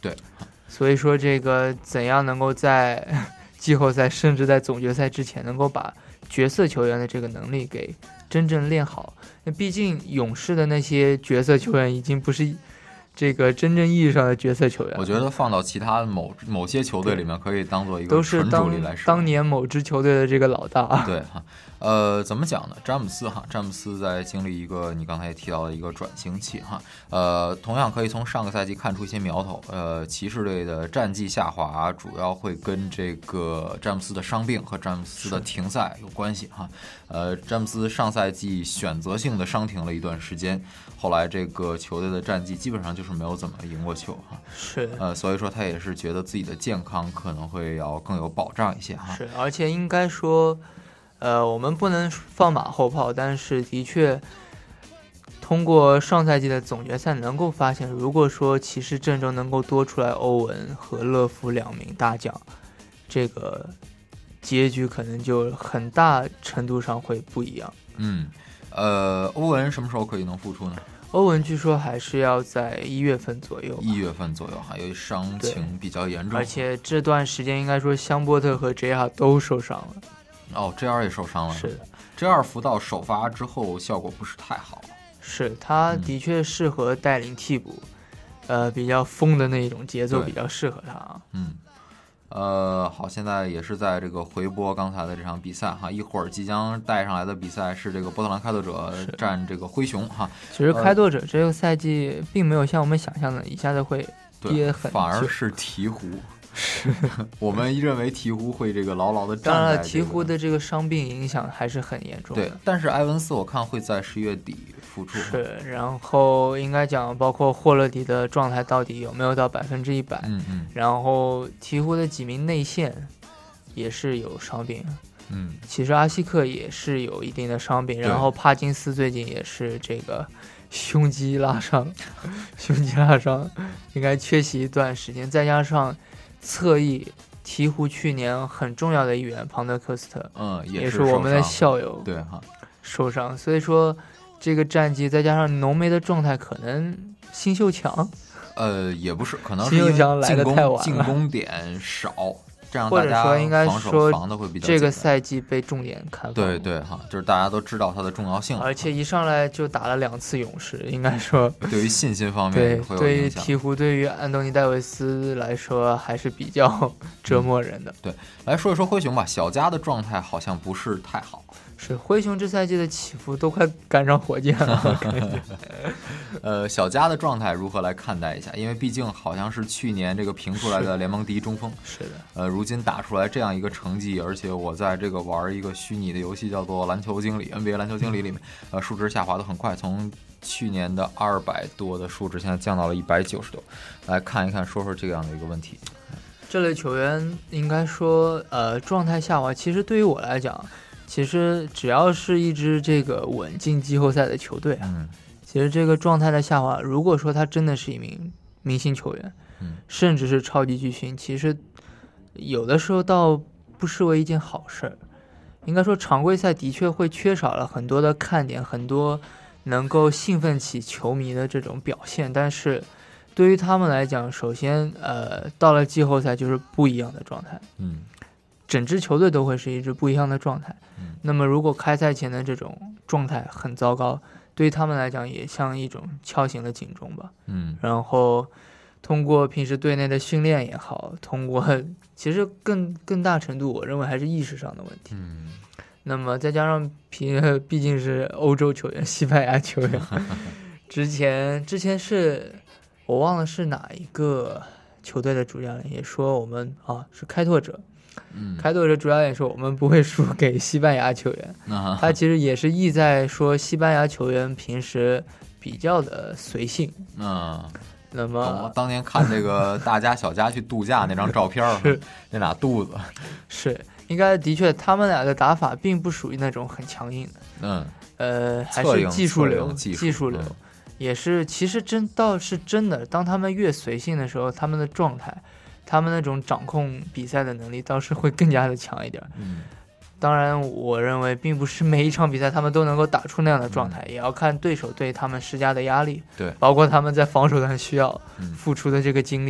对， 所以说这个怎样能够在季后赛甚至在总决赛之前能够把角色球员的这个能力给真正练好。那毕竟勇士的那些角色球员已经不是这个真正意义上的角色球员， 我觉得放到其他某某些球队里面可以当做一个都是当当年某支球队的这个老大。 对哈，呃，怎么讲呢？詹姆斯哈，詹姆斯在经历一个你刚才也提到的一个转型期哈，呃，同样可以从上个赛季看出一些苗头。呃，骑士队的战绩下滑主要会跟这个詹姆斯的伤病和詹姆斯的停赛有关系哈。呃，詹姆斯上赛季选择性的伤停了一段时间，后来这个球队的战绩基本上就是没有怎么赢过球哈。 是， 呃，所以说他也是觉得自己的健康可能会要更有保障一些哈。 是，而且应该说，呃，我们不能放马后炮，但是的确，通过上赛季的总决赛能够发现，如果说骑士阵中能够多出来欧文和乐福两名大将，这个结局可能就很大程度上会不一样。 嗯，呃，欧文什么时候可以能复出呢？ 欧文据说还是要在一月份左右， 一月份左右，还有伤情比较严重， 而且这段时间应该说香波特和 J R 都受伤了。 哦 ，J R 也受伤了， 是的 ，J R 福到首发之后效果不是太好， 是他的确适合带领替补，嗯、呃，比较疯的那一种节奏比较适合他啊。 嗯。呃，好，现在也是在这个回播刚才的这场比赛哈，一会儿即将带上来的比赛是这个波特兰开拓者战这个灰熊哈。 其实开拓者这个赛季并没有像我们想象的一下子会跌很久， 反而是鹈鹕。我们认为鹈鹕会这个牢牢的站在、这个。 当然了，鹈鹕的这个伤病影响还是很严重的。 对，但是埃文斯我看会在十月底复出。 是，然后应该讲，包括霍勒迪的状态到底有没有到百分之一百？ 嗯嗯。 然后鹈鹕的几名内线也是有伤病。 嗯。 其实阿西克也是有一定的伤病，然后帕金斯最近也是这个胸肌拉伤，胸肌拉伤，应该缺席一段时间，再加上。侧翼鹈鹕去年很重要的一员庞德科斯特， 嗯， 也是我们的校友， 对哈， 受伤，所以说这个战绩再加上浓眉的状态，可能新秀强， 呃，也不是，可能是新秀强来的太晚了， 进攻点少，这样或者说应该说防的会比较这个赛季被重点看防， 对对哈，就是大家都知道它的重要性， 而且一上来就打了两次勇士，应该说对于信心方面对会有对于影响。 鹈鹕对于安东尼戴维斯来说还是比较折磨人的。 嗯、对，来说一说灰熊吧，小加的状态好像不是太好。 是灰熊这赛季的起伏都快赶上火箭了。 呃，小加的状态如何来看待一下？因为毕竟好像是去年这个评出来的联盟第一中锋。 是的。 呃，如今打出来这样一个成绩，而且我在这个玩一个虚拟的游戏叫做篮球经理 N B A 篮球经理里面，呃，数值下滑的很快，从去年的二百多的数值现在降到了一百九十多。来看一看，说说这样的一个问题。 这类球员应该说，呃，状态下滑，其实对于我来讲。其实只要是一支这个稳进季后赛的球队啊， 嗯， 其实这个状态的下滑，如果说他真的是一名明星球员， 嗯， 甚至是超级巨星，其实有的时候倒不失为一件好事儿。应该说，常规赛的确会缺少了很多的看点，很多能够兴奋起球迷的这种表现，但是对于他们来讲，首先，呃，到了季后赛就是不一样的状态， 嗯。 整支球队都会是一支不一样的状态。 嗯， 那么如果开赛前的这种状态很糟糕，对于他们来讲也像一种敲醒了警钟吧。 嗯， 然后通过平时队内的训练也好，通过其实更更大程度，我认为还是意识上的问题。 嗯， 那么再加上毕毕竟是欧洲球员、西班牙球员，之前之前是我忘了是哪一个球队的主教练也说我们啊是开拓者。 嗯， 开拓者主要也说我们不会输给西班牙球员， 啊、 他其实也是意在说西班牙球员平时比较的随性。 嗯、啊， 那么当年看这个大家小家去度假那张照片，那俩肚子， 是应该的确他们俩的打法并不属于那种很强硬的， 嗯， 呃，还是技术流， 技术技术流，嗯、也是其实真倒是真的，当他们越随性的时候，他们的状态。他们那种掌控比赛的能力倒是会更加的强一点。 嗯， 当然，我认为并不是每一场比赛他们都能够打出那样的状态， 嗯、 也要看对手对他们施加的压力， 对， 包括他们在防守端需要付出的这个精力。 嗯、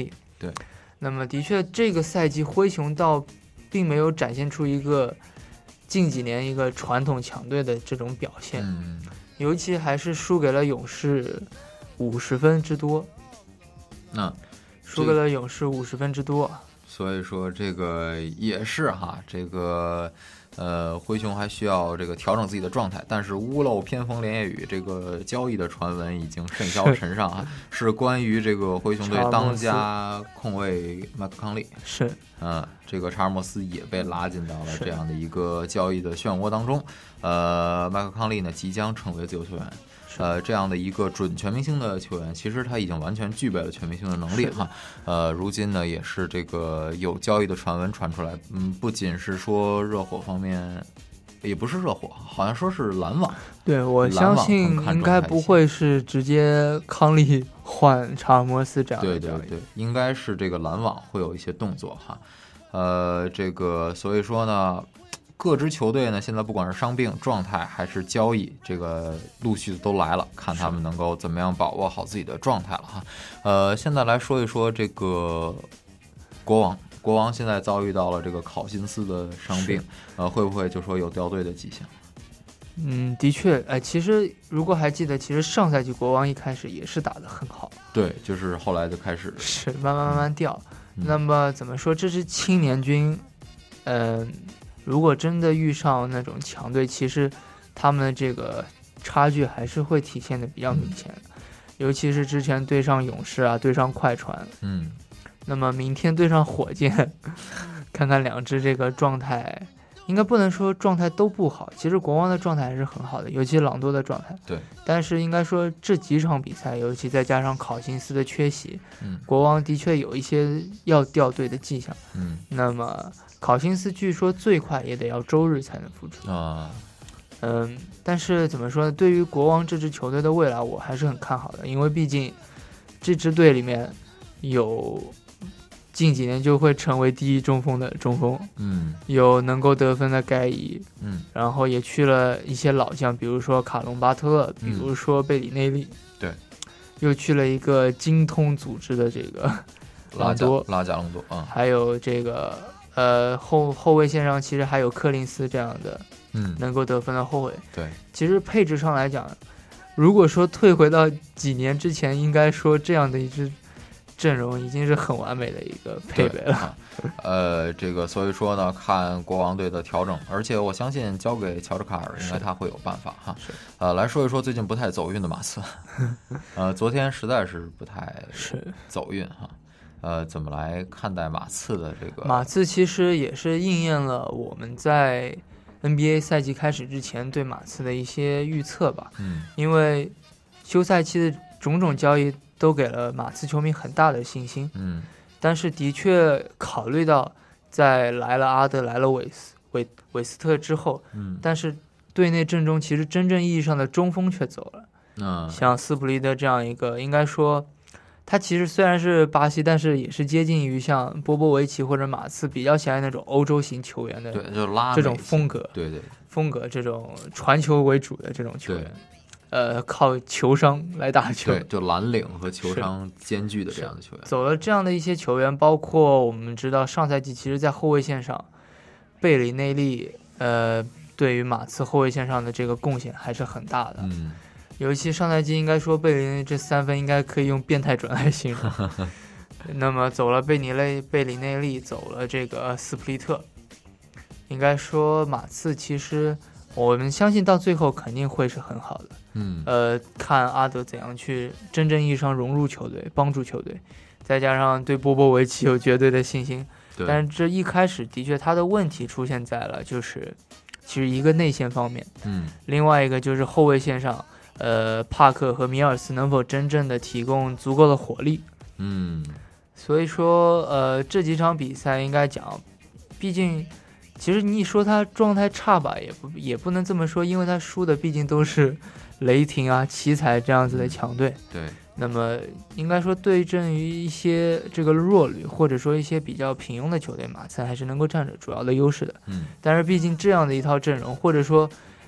对。 那么的确，这个赛季灰熊倒并没有展现出一个近几年一个传统强队的这种表现， 嗯， 尤其还是输给了勇士五十分之多。 那、嗯、 输给了勇士五十分之多。 所以说这个也是哈，这个呃灰熊还需要这个调整自己的状态，但是屋漏偏逢连夜雨，这个交易的传闻已经甚嚣尘上啊，是关于这个灰熊队当家控卫麦克康利， 是嗯，这个查尔莫斯也被拉进到了这样的一个交易的漩涡当中，呃，麦克康利呢即将成为自由球员。呃，这样的一个准全明星的球员，其实他已经完全具备了全明星的能力哈。呃，如今呢，也是这个有交易的传闻传出来，嗯，不仅是说热火方面，也不是热火，好像说是篮网。 对，我相信应该不会是直接康利换查尔莫斯这样的。 对对对，应该是这个篮网会有一些动作哈。呃，这个所以说呢。各支球队呢，现在不管是伤病状态还是交易，这个陆续都来了，看他们能够怎么样把握好自己的状态了哈。呃，现在来说一说这个国王，国王现在遭遇到了这个考辛斯的伤病，呃，会不会就说有掉队的迹象？ 嗯，的确，哎，其实如果还记得，其实上赛季国王一开始也是打得很好， 对，就是后来就开始是慢慢慢慢掉。 嗯、 那么怎么说，这支青年军，嗯、呃。如果真的遇上那种强队，其实他们的这个差距还是会体现的比较明显的，嗯、尤其是之前对上勇士啊，对上快船， 嗯， 那么明天对上火箭，看看两支这个状态，应该不能说状态都不好，其实国王的状态还是很好的，尤其朗多的状态， 对， 但是应该说这几场比赛，尤其再加上考辛斯的缺席， 嗯， 国王的确有一些要掉队的迹象， 嗯， 那么。考辛斯据说最快也得要周日才能复出啊， 嗯，但是怎么说呢？对于国王这支球队的未来，我还是很看好的，因为毕竟这支队里面有近几年就会成为第一中锋的中锋， 嗯， 有能够得分的盖伊， 嗯， 然后也去了一些老将，比如说卡隆巴特勒，比如说贝里内利， 嗯、对， 又去了一个精通组织的这个拉多拉加隆多啊、嗯， 还有这个。呃，后后卫线上其实还有柯林斯这样的， 嗯， 能够得分的后卫。 对， 其实配置上来讲，如果说退回到几年之前，应该说这样的一支阵容已经是很完美的一个配备了。 啊、呃，这个所以说呢，看国王队的调整，而且我相信交给乔治卡尔，应该他会有办法哈。 是， 呃，来说一说最近不太走运的马刺，呃，昨天实在是不太是走运哈。呃，怎么来看待马刺的这个？ 马刺其实也是应验了我们在 N B A 赛季开始之前对马刺的一些预测吧。 嗯， 因为休赛期的种种交易都给了马刺球迷很大的信心。 嗯， 但是的确考虑到在来了阿德、来了韦斯韦韦斯特之后， 嗯， 但是队内阵中其实真正意义上的中锋却走了。 嗯， 像斯普利德这样一个，应该说。他其实虽然是巴西，但是也是接近于像波波维奇或者马刺比较喜爱那种欧洲型球员的， 对，就拉这种风格， 对对， 风格这种传球为主的这种球员，呃，靠球商来打球， 对，就蓝领和球商兼具的这样的球员。 走了这样的一些球员，包括我们知道上赛季其实在后卫线上，贝里内利，呃，对于马刺后卫线上的这个贡献还是很大的。 嗯。 尤其上赛季应该说贝里内这三分应该可以用变态准来形容。那么走了贝尼类贝里内利，走了这个斯普利特，应该说马刺其实我们相信到最后肯定会是很好的。 嗯， 呃，看阿德怎样去真正意义上融入球队，帮助球队，再加上对波波维奇有绝对的信心。 对， 但是这一开始的确他的问题出现在了就是其实一个内线方面， 嗯， 另外一个就是后卫线上。呃，帕克和米尔斯能否真正的提供足够的火力？ 嗯， 所以说，呃，这几场比赛应该讲，毕竟，其实你说他状态差吧，也不也不能这么说，因为他输的毕竟都是雷霆啊、奇才这样子的强队。 对。 那么应该说，对阵于一些这个弱旅或者说一些比较平庸的球队，马刺还是能够占着主要的优势的。 嗯。 但是毕竟这样的一套阵容，或者说。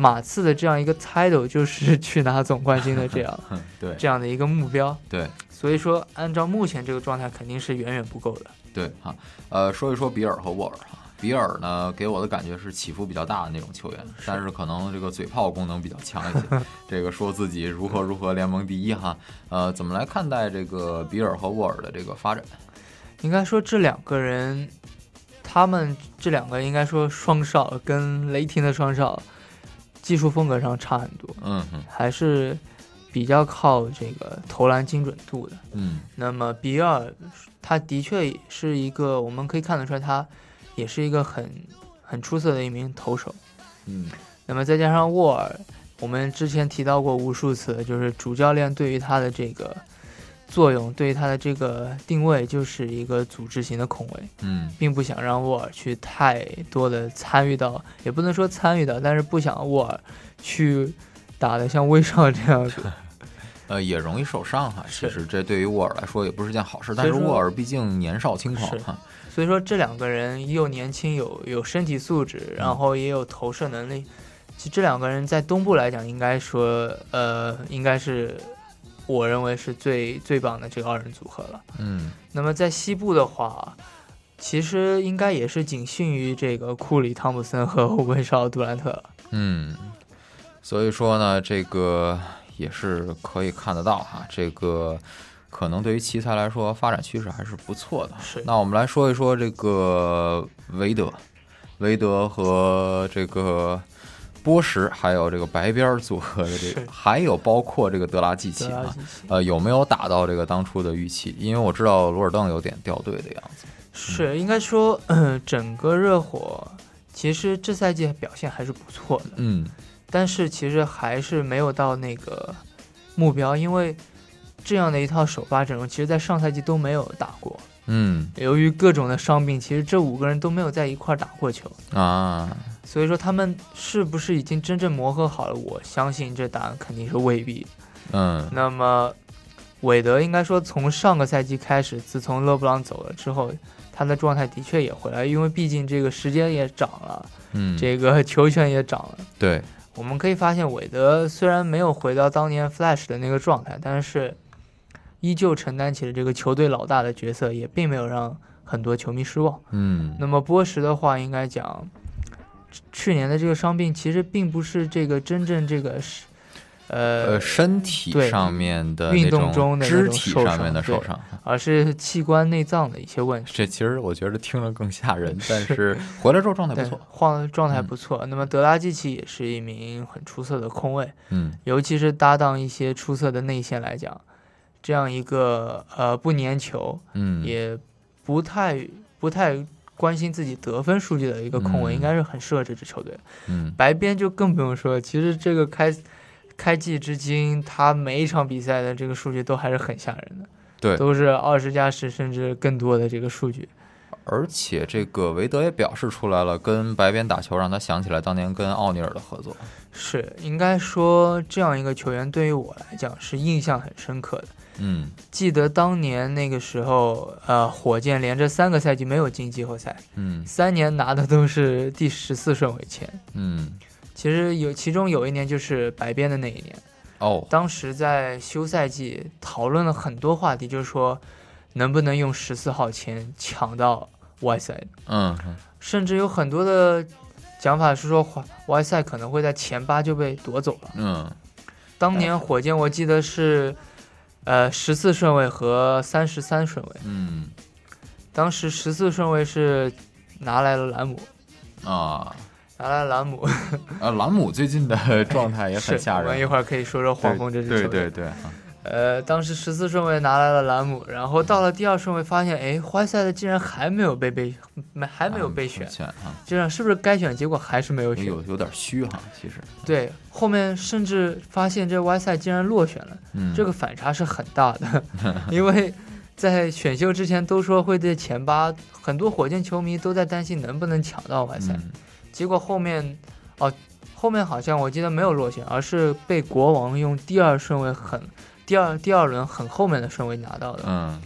马刺的这样一个 title 就是去拿总冠军的这样对这样的一个目标。 对， 所以说按照目前这个状态肯定是远远不够的。 对哈，呃，说一说比尔和沃尔哈。比尔呢，给我的感觉是起伏比较大的那种球员，但是可能这个嘴炮功能比较强一些。这个说自己如何如何联盟第一哈，呃，怎么来看待这个比尔和沃尔的这个发展？ 应该说这两个人，他们这两个应该说双少跟雷霆的双少，技术风格上差很多， 嗯哼， 还是比较靠这个投篮精准度的。 嗯， 那么比尔他的确是一个，我们可以看得出来他。也是一个很很出色的一名投手， 嗯， 那么再加上沃尔，我们之前提到过无数次，就是主教练对于他的这个作用，对于他的这个定位，就是一个组织型的控卫， 嗯， 并不想让沃尔去太多的参与到，也不能说参与到，但是不想沃尔去打得像威少这样子。 呃，也容易受伤哈。其实这对于沃尔来说也不是件好事，但是沃尔毕竟年少轻狂哈。 所以说这两个人又年轻，有有身体素质，然后也有投射能力。其实这两个人在东部来讲，应该说，呃，应该是我认为是最最棒的这个二人组合了。 嗯。 那么在西部的话，其实应该也是仅逊于这个库里、汤普森和威少、杜兰特了。 嗯。所以说呢，这个也是可以看得到哈，这个。可能对于奇才来说，发展趋势还是不错的。 是， 那我们来说一说这个韦德，韦德和这个波什，还有这个白边组合的这个，还有包括这个德拉季奇啊，呃，有没有达到这个当初的预期？因为我知道罗尔邓有点掉队的样子。 是，应该说，呃，整个热火其实这赛季表现还是不错的。 嗯， 但是其实还是没有到那个目标，因为。这样的一套首发阵容，其实在上赛季都没有打过。 嗯， 由于各种的伤病，其实这五个人都没有在一块打过球啊。 所以说他们是不是已经真正磨合好了？我相信这答案肯定是未必。 嗯， 那么韦德应该说从上个赛季开始，自从勒布朗走了之后，他的状态的确也回来，因为毕竟这个时间也长了， 嗯， 这个球权也长了。 对， 我们可以发现韦德虽然没有回到当年 Flash 的那个状态，但是。依旧承担起了这个球队老大的角色，也并没有让很多球迷失望。 嗯， 那么波什的话，应该讲，去年的这个伤病其实并不是这个真正这个是，呃呃身体上面的运动中的肢体上面的受伤， 而是器官内脏的一些问题。 这其实我觉得听了更吓人，但是回来之后状态不错， 换状态不错。嗯、那么德拉季奇也是一名很出色的控卫， 嗯， 尤其是搭档一些出色的内线来讲。这样一个呃不粘球， 嗯， 也不太不太关心自己得分数据的一个控卫， 嗯、 应该是很适合这支球队。 嗯， 白边就更不用说，其实这个开开季至今，他每一场比赛的这个数据都还是很吓人的， 对， 都是二十加十甚至更多的这个数据。 而且这个韦德也表示出来了，跟白边打球让他想起来当年跟奥尼尔的合作。 是，应该说这样一个球员对于我来讲是印象很深刻的。 嗯， 记得当年那个时候，呃，火箭连着三个赛季没有进季后赛， 嗯， 三年拿的都是第十四顺位签， 嗯， 其实有其中有一年就是白边的那一年， 哦， 当时在休赛季讨论了很多话题，就是说能不能用十四号签抢到 Y 赛， 嗯， 甚至有很多的讲法是说 Y 赛可能会在前八就被夺走了， 嗯， 当年火箭我记得是。呃，十四顺位和三十三顺位， 嗯， 当时十四顺位是拿来了兰姆， 啊， 拿来了兰姆， 啊，兰姆最近的状态也很吓人， 我们一会儿可以说说黄蜂这支球队， 对对对， 呃，当时十四顺位拿来了兰姆，然后到了第二顺位发现，哎，怀塞的竟然还没有被被没还没有被选， 啊， 这样是不是该选结果还是没有选？ 有有点虚哈，其实。 对，后面甚至发现这怀塞竟然落选了， 嗯， 这个反差是很大的，因为在选秀之前都说会在前八，很多火箭球迷都在担心能不能抢到怀塞， 嗯， 结果后面哦，后面好像我记得没有落选，而是被国王用第二顺位很。第二第二轮很后面的顺位拿到的， 嗯，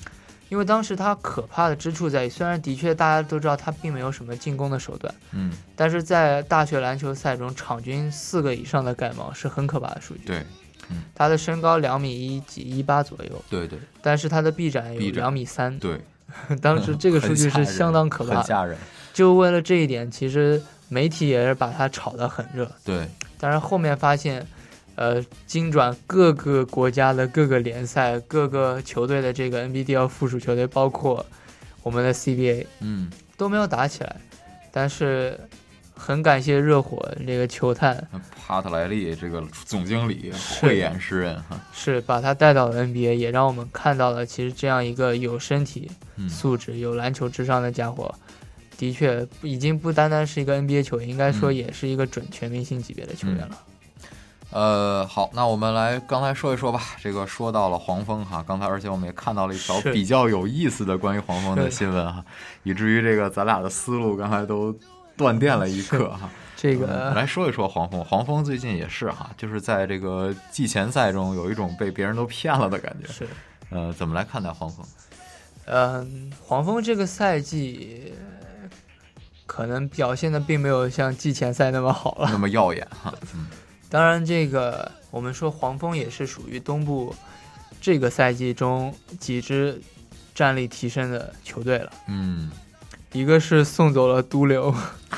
因为当时他可怕的之处在于，虽然的确大家都知道他并没有什么进攻的手段， 嗯， 但是在大学篮球赛中，场均四个以上的盖帽是很可怕的数据。 对，嗯， 他的身高两米一几一八左右， 对对， 但是他的臂展有两米三， 对， 当时这个数据是相当可怕的， 很吓人。 就为了这一点，其实媒体也是把他炒得很热。 对， 但是后面发现。呃，精转各个国家的各个联赛、各个球队的这个 N B D L 附属球队，包括我们的 C B A， 嗯， 都没有打起来。但是很感谢热火这个球探帕特莱利这个总经理慧眼识人哈， 是把他带到了 N B A， 也让我们看到了其实这样一个有身体素质、嗯、有篮球智商的家伙，的确已经不单单是一个 N B A 球员，应该说也是一个准全明星级别的球员了。嗯呃，好，那我们来刚才说一说吧。这个说到了黄蜂哈，刚才而且我们也看到了一条比较有意思的关于黄蜂的新闻哈，以至于这个咱俩的思路刚才都断电了一刻哈。 这个、 嗯、来说一说黄蜂，黄蜂最近也是哈，就是在这个季前赛中有一种被别人都骗了的感觉。 是， 呃，怎么来看待黄蜂？ 嗯、呃，黄蜂这个赛季可能表现的并没有像季前赛那么好了， 那么耀眼哈。嗯。 当然，这个我们说黄蜂也是属于东部这个赛季中几支战力提升的球队了。 嗯， 一个是送走了毒瘤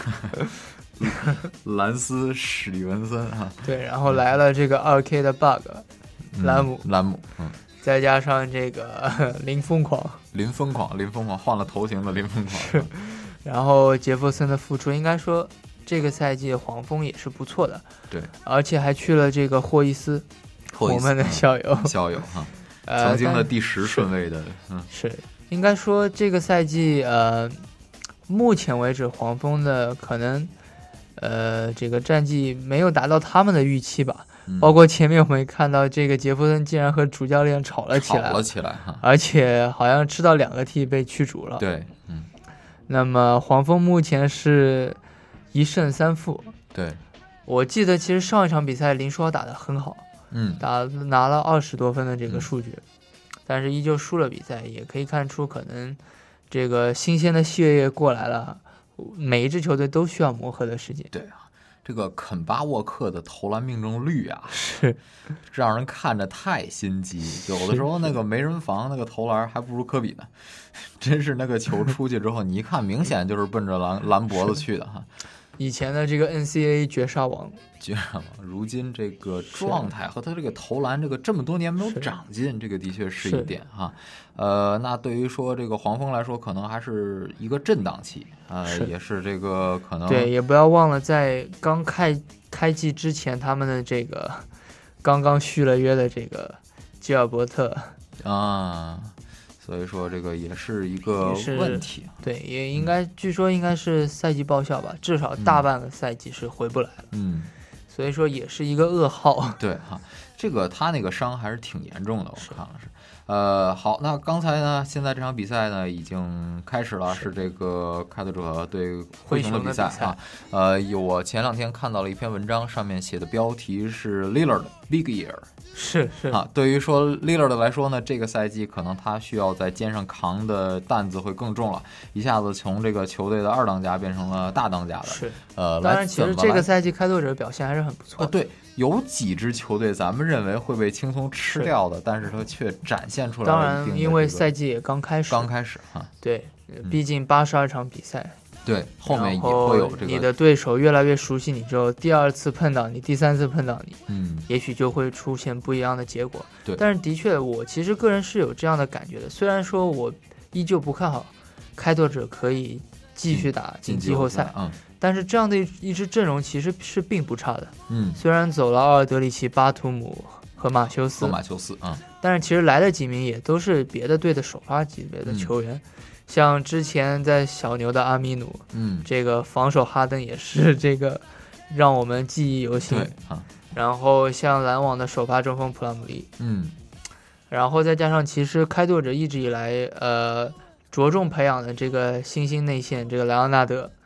兰斯史蒂文森哈， 对，然后来了这个二 K 的 bug、 嗯、 兰姆， 兰姆，嗯， 再加上这个林疯狂， 林疯狂，林疯狂换了头型的林疯狂， 然后杰弗森的复出，应该说。这个赛季黄蜂也是不错的， 对， 而且还去了这个霍伊斯， 霍伊斯我们的校友， 嗯、校友哈，呃、曾经的第十顺位的，嗯， 是应该说这个赛季呃，目前为止黄蜂的可能呃这个战绩没有达到他们的预期吧， 嗯、 包括前面我们看到这个杰弗森竟然和主教练吵了起来， 吵了起来哈， 而且好像吃到两个 T 被驱逐了， 对，嗯， 那么黄蜂目前是。一胜三负， 对， 我记得其实上一场比赛林书豪打得很好， 嗯， 打拿了二十多分的这个数据、嗯，但是依旧输了比赛，也可以看出可能这个新鲜的血液过来了，每一支球队都需要磨合的时间。 对啊，这个肯巴沃克的投篮命中率啊， 是让人看着太心急，有的时候那个没人防那个投篮还不如科比呢，真是那个球出去之后，你一看明显就是奔着篮篮脖子去的哈。 以前的这个 N C A A 绝杀王， 绝杀王，如今这个状态和他这个投篮，这个这么多年没有长进，这个的确是一点哈。呃，那对于说这个黄蜂来说，可能还是一个震荡期啊、呃，也是这个可能对，也不要忘了在刚开开季之前，他们的这个刚刚续了约的这个吉尔伯特啊。所以说这个也是一个问题， 对，也应该、嗯、据说应该是赛季报销吧，至少大半个赛季是回不来了。 嗯， 所以说也是一个噩耗。 对哈，这个他那个伤还是挺严重的，我看了是。呃，好，那刚才呢，现在这场比赛呢已经开始了，是, 是这个开拓者对灰熊的比赛啊。呃，有我前两天看到了一篇文章，上面写的标题是 Lillard Big Year。 是是啊，对于说 Lillard 来说呢，这个赛季可能他需要在肩上扛的担子会更重了，一下子从这个球队的二当家变成了大当家的。 是， 呃， 当然其实这个赛季开拓者表现还是很不错的。 呃、对，有几支球队咱们认为会被轻松吃掉的，但是他却展现出来了。 当然，因为赛季也刚开始， 刚开始哈。 对，毕竟八十二场比赛。嗯对，后面也会有这个。 你的对手越来越熟悉你之后，第二次碰到你，第三次碰到你， 嗯， 也许就会出现不一样的结果。 对， 但是的确，我其实个人是有这样的感觉的。虽然说我依旧不看好开拓者可以继续打进季后赛， 嗯， 但是这样的一支阵容其实是并不差的。 嗯， 虽然走了奥尔德里奇、巴图姆和马修斯， 和马修斯啊、嗯， 但是其实来的几名也都是别的队的首发级别的球员。嗯，像之前在小牛的阿米努， 嗯， 这个防守哈登也是这个让我们记忆犹新。 对啊， 然后像篮网的首发中锋普拉姆利， 嗯， 然后再加上其实开拓者一直以来呃着重培养的这个新兴内线这个莱昂纳德，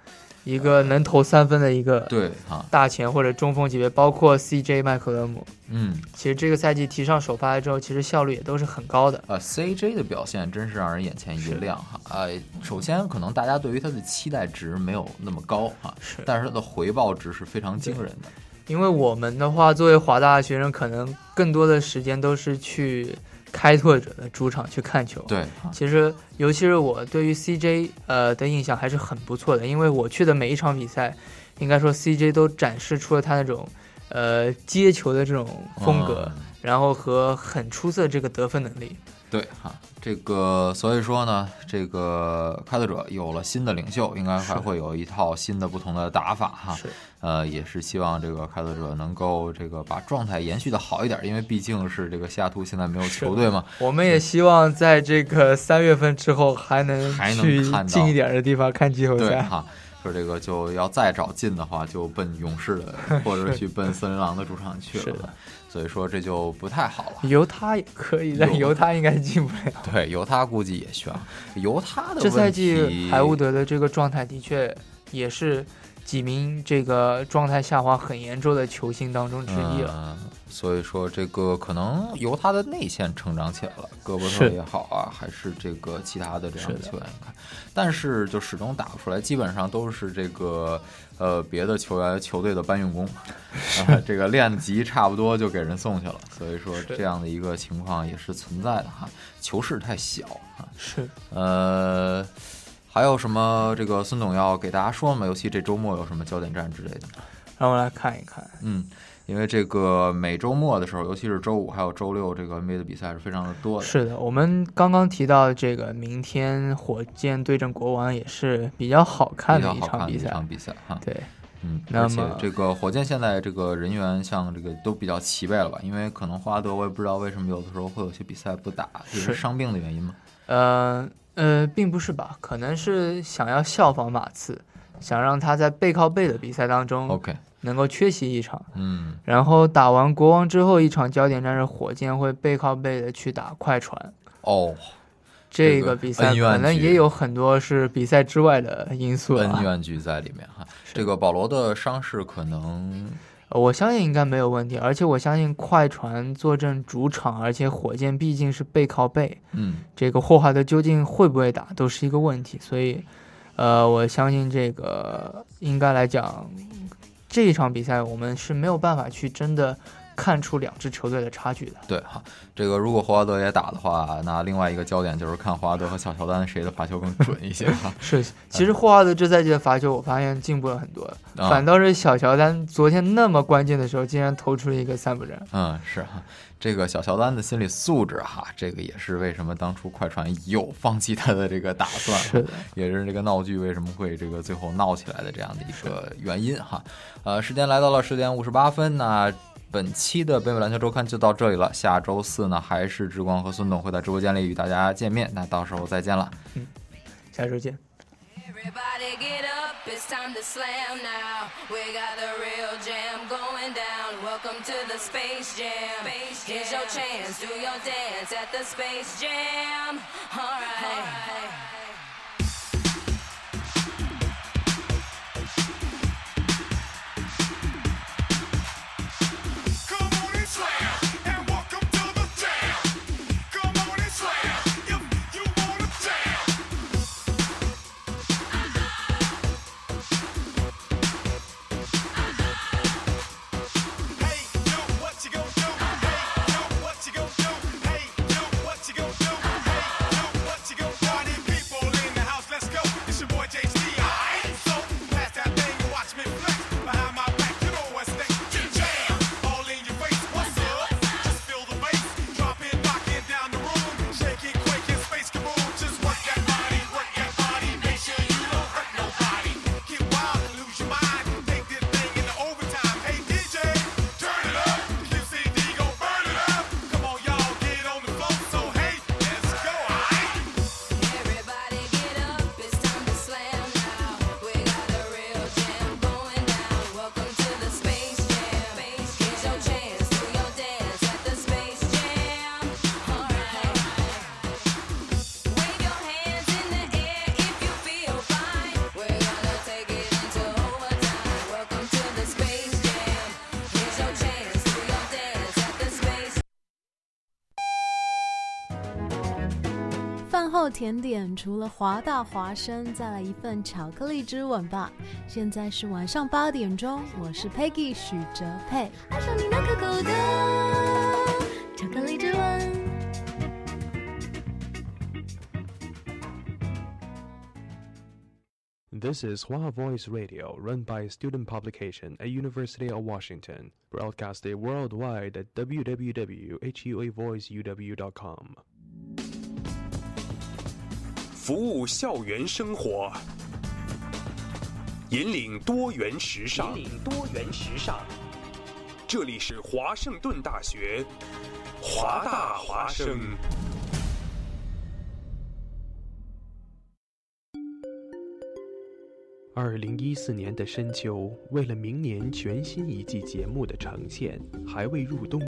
一个能投三分的一个对哈大前或者中锋级别，包括 C J 麦克勒姆， 嗯， 其实这个赛季提上首发之后，其实效率也都是很高的。 呃 ，C J 的表现真是让人眼前一亮哈。呃，首先可能大家对于他的期待值没有那么高哈， 是， 但是他的回报值是非常惊人的。 因为我们的话，作为华大的学生，可能更多的时间都是去开拓者的主场去看球。 对， 其实尤其是我对于 C J 呃的印象还是很不错的，因为我去的每一场比赛，应该说 C J 都展示出了他那种呃接球的这种风格，嗯、然后和很出色这个得分能力。 对哈，这个所以说呢，这个开拓者有了新的领袖，应该还会有一套新的不同的打法哈。 是， 呃，也是希望这个开拓者能够这个把状态延续的好一点，因为毕竟是这个西雅图现在没有球队嘛。 我们也希望在这个三月份之后还能去近一点的地方看季后赛。 对哈。说这个就要再找近的话，就奔勇士的或者去奔森林狼的主场去了。 是的， 所以说这就不太好了。 犹他也可以，但犹他应该进不了。 对，犹他估计也需要。犹他的这赛季海伍德的这个状态的确也是几名这个状态下滑很严重的球星当中之一了。 嗯，所以说这个可能由他的内线成长起来了，戈伯特也好啊，还是这个其他的这样的球员看，但是就始终打不出来，基本上都是这个呃别的球员球队的搬运工，呃、这个练级差不多就给人送去了，所以说这样的一个情况也是存在的哈，球市太小哈。 是， 呃。还有什么这个孙总要给大家说吗？尤其这周末有什么焦点战之类的？ 让我来看一看。 嗯，因为这个每周末的时候，尤其是周五还有周六，这个 N B A 的比赛是非常的多的。 是的，我们刚刚提到这个明天火箭对阵国王也是比较好看的一场比赛。 一场比赛哈。 对， 嗯，而且这个火箭现在这个人员像这个都比较齐备了吧？因为可能霍华德我也不知道为什么有的时候会有些比赛不打，是伤病的原因吗？ 呃。呃，并不是吧？可能是想要效仿马刺，想让他在背靠背的比赛当中 ，OK， 能够缺席一场。 嗯， 然后打完国王之后，一场焦点战是火箭会背靠背的去打快船。 哦， 这个比赛可能也有很多是比赛之外的因素、啊， 恩怨局在里面哈。这个保罗的伤势可能。 我相信应该没有问题，而且我相信快船坐镇主场，而且火箭毕竟是背靠背， 嗯， 这个霍华德究竟会不会打都是一个问题，所以，呃，我相信这个应该来讲，这一场比赛我们是没有办法去真的看出两支球队的差距的。 对哈，这个如果霍华德也打的话，那另外一个焦点就是看霍华德和小乔丹谁的罚球更准一些哈。 是，其实霍华德这赛季的罚球我发现进步了很多，嗯、反倒是小乔丹昨天那么关键的时候竟然投出了一个三不沾。 嗯，是哈，这个小乔丹的心理素质哈，这个也是为什么当初快船有放弃他的这个打算， 是的， 也是这个闹剧为什么会这个最后闹起来的这样的一个原因哈。呃，时间来到了十点五十八分，那。本期的北美篮球周刊就到这里了，下周四呢还是志光和孙董会在直播间里与大家见面，那到时候再见了。 嗯，下周见。 Everybody get up, it's time to slam now. We got the real jam going down. Welcome to the Space Jam. Here's your chance, do your dance at the Space Jam. All right. All right. People 后甜点除了华大华生，再来一份巧克力之吻吧。现在是晚上八点钟，我是 Peggy 许哲佩，爱上你那可口的巧克力之吻。 This is Hua Voice Radio, run by a student publication at University of Washington, broadcasted worldwide at w w w dot hua voice u w dot com. 服务校园生活，引领多元时尚。引领多元时尚。这里是华盛顿大学，华大华生。 二零一四年的深秋，为了明年全新一季节目的呈现，还未入冬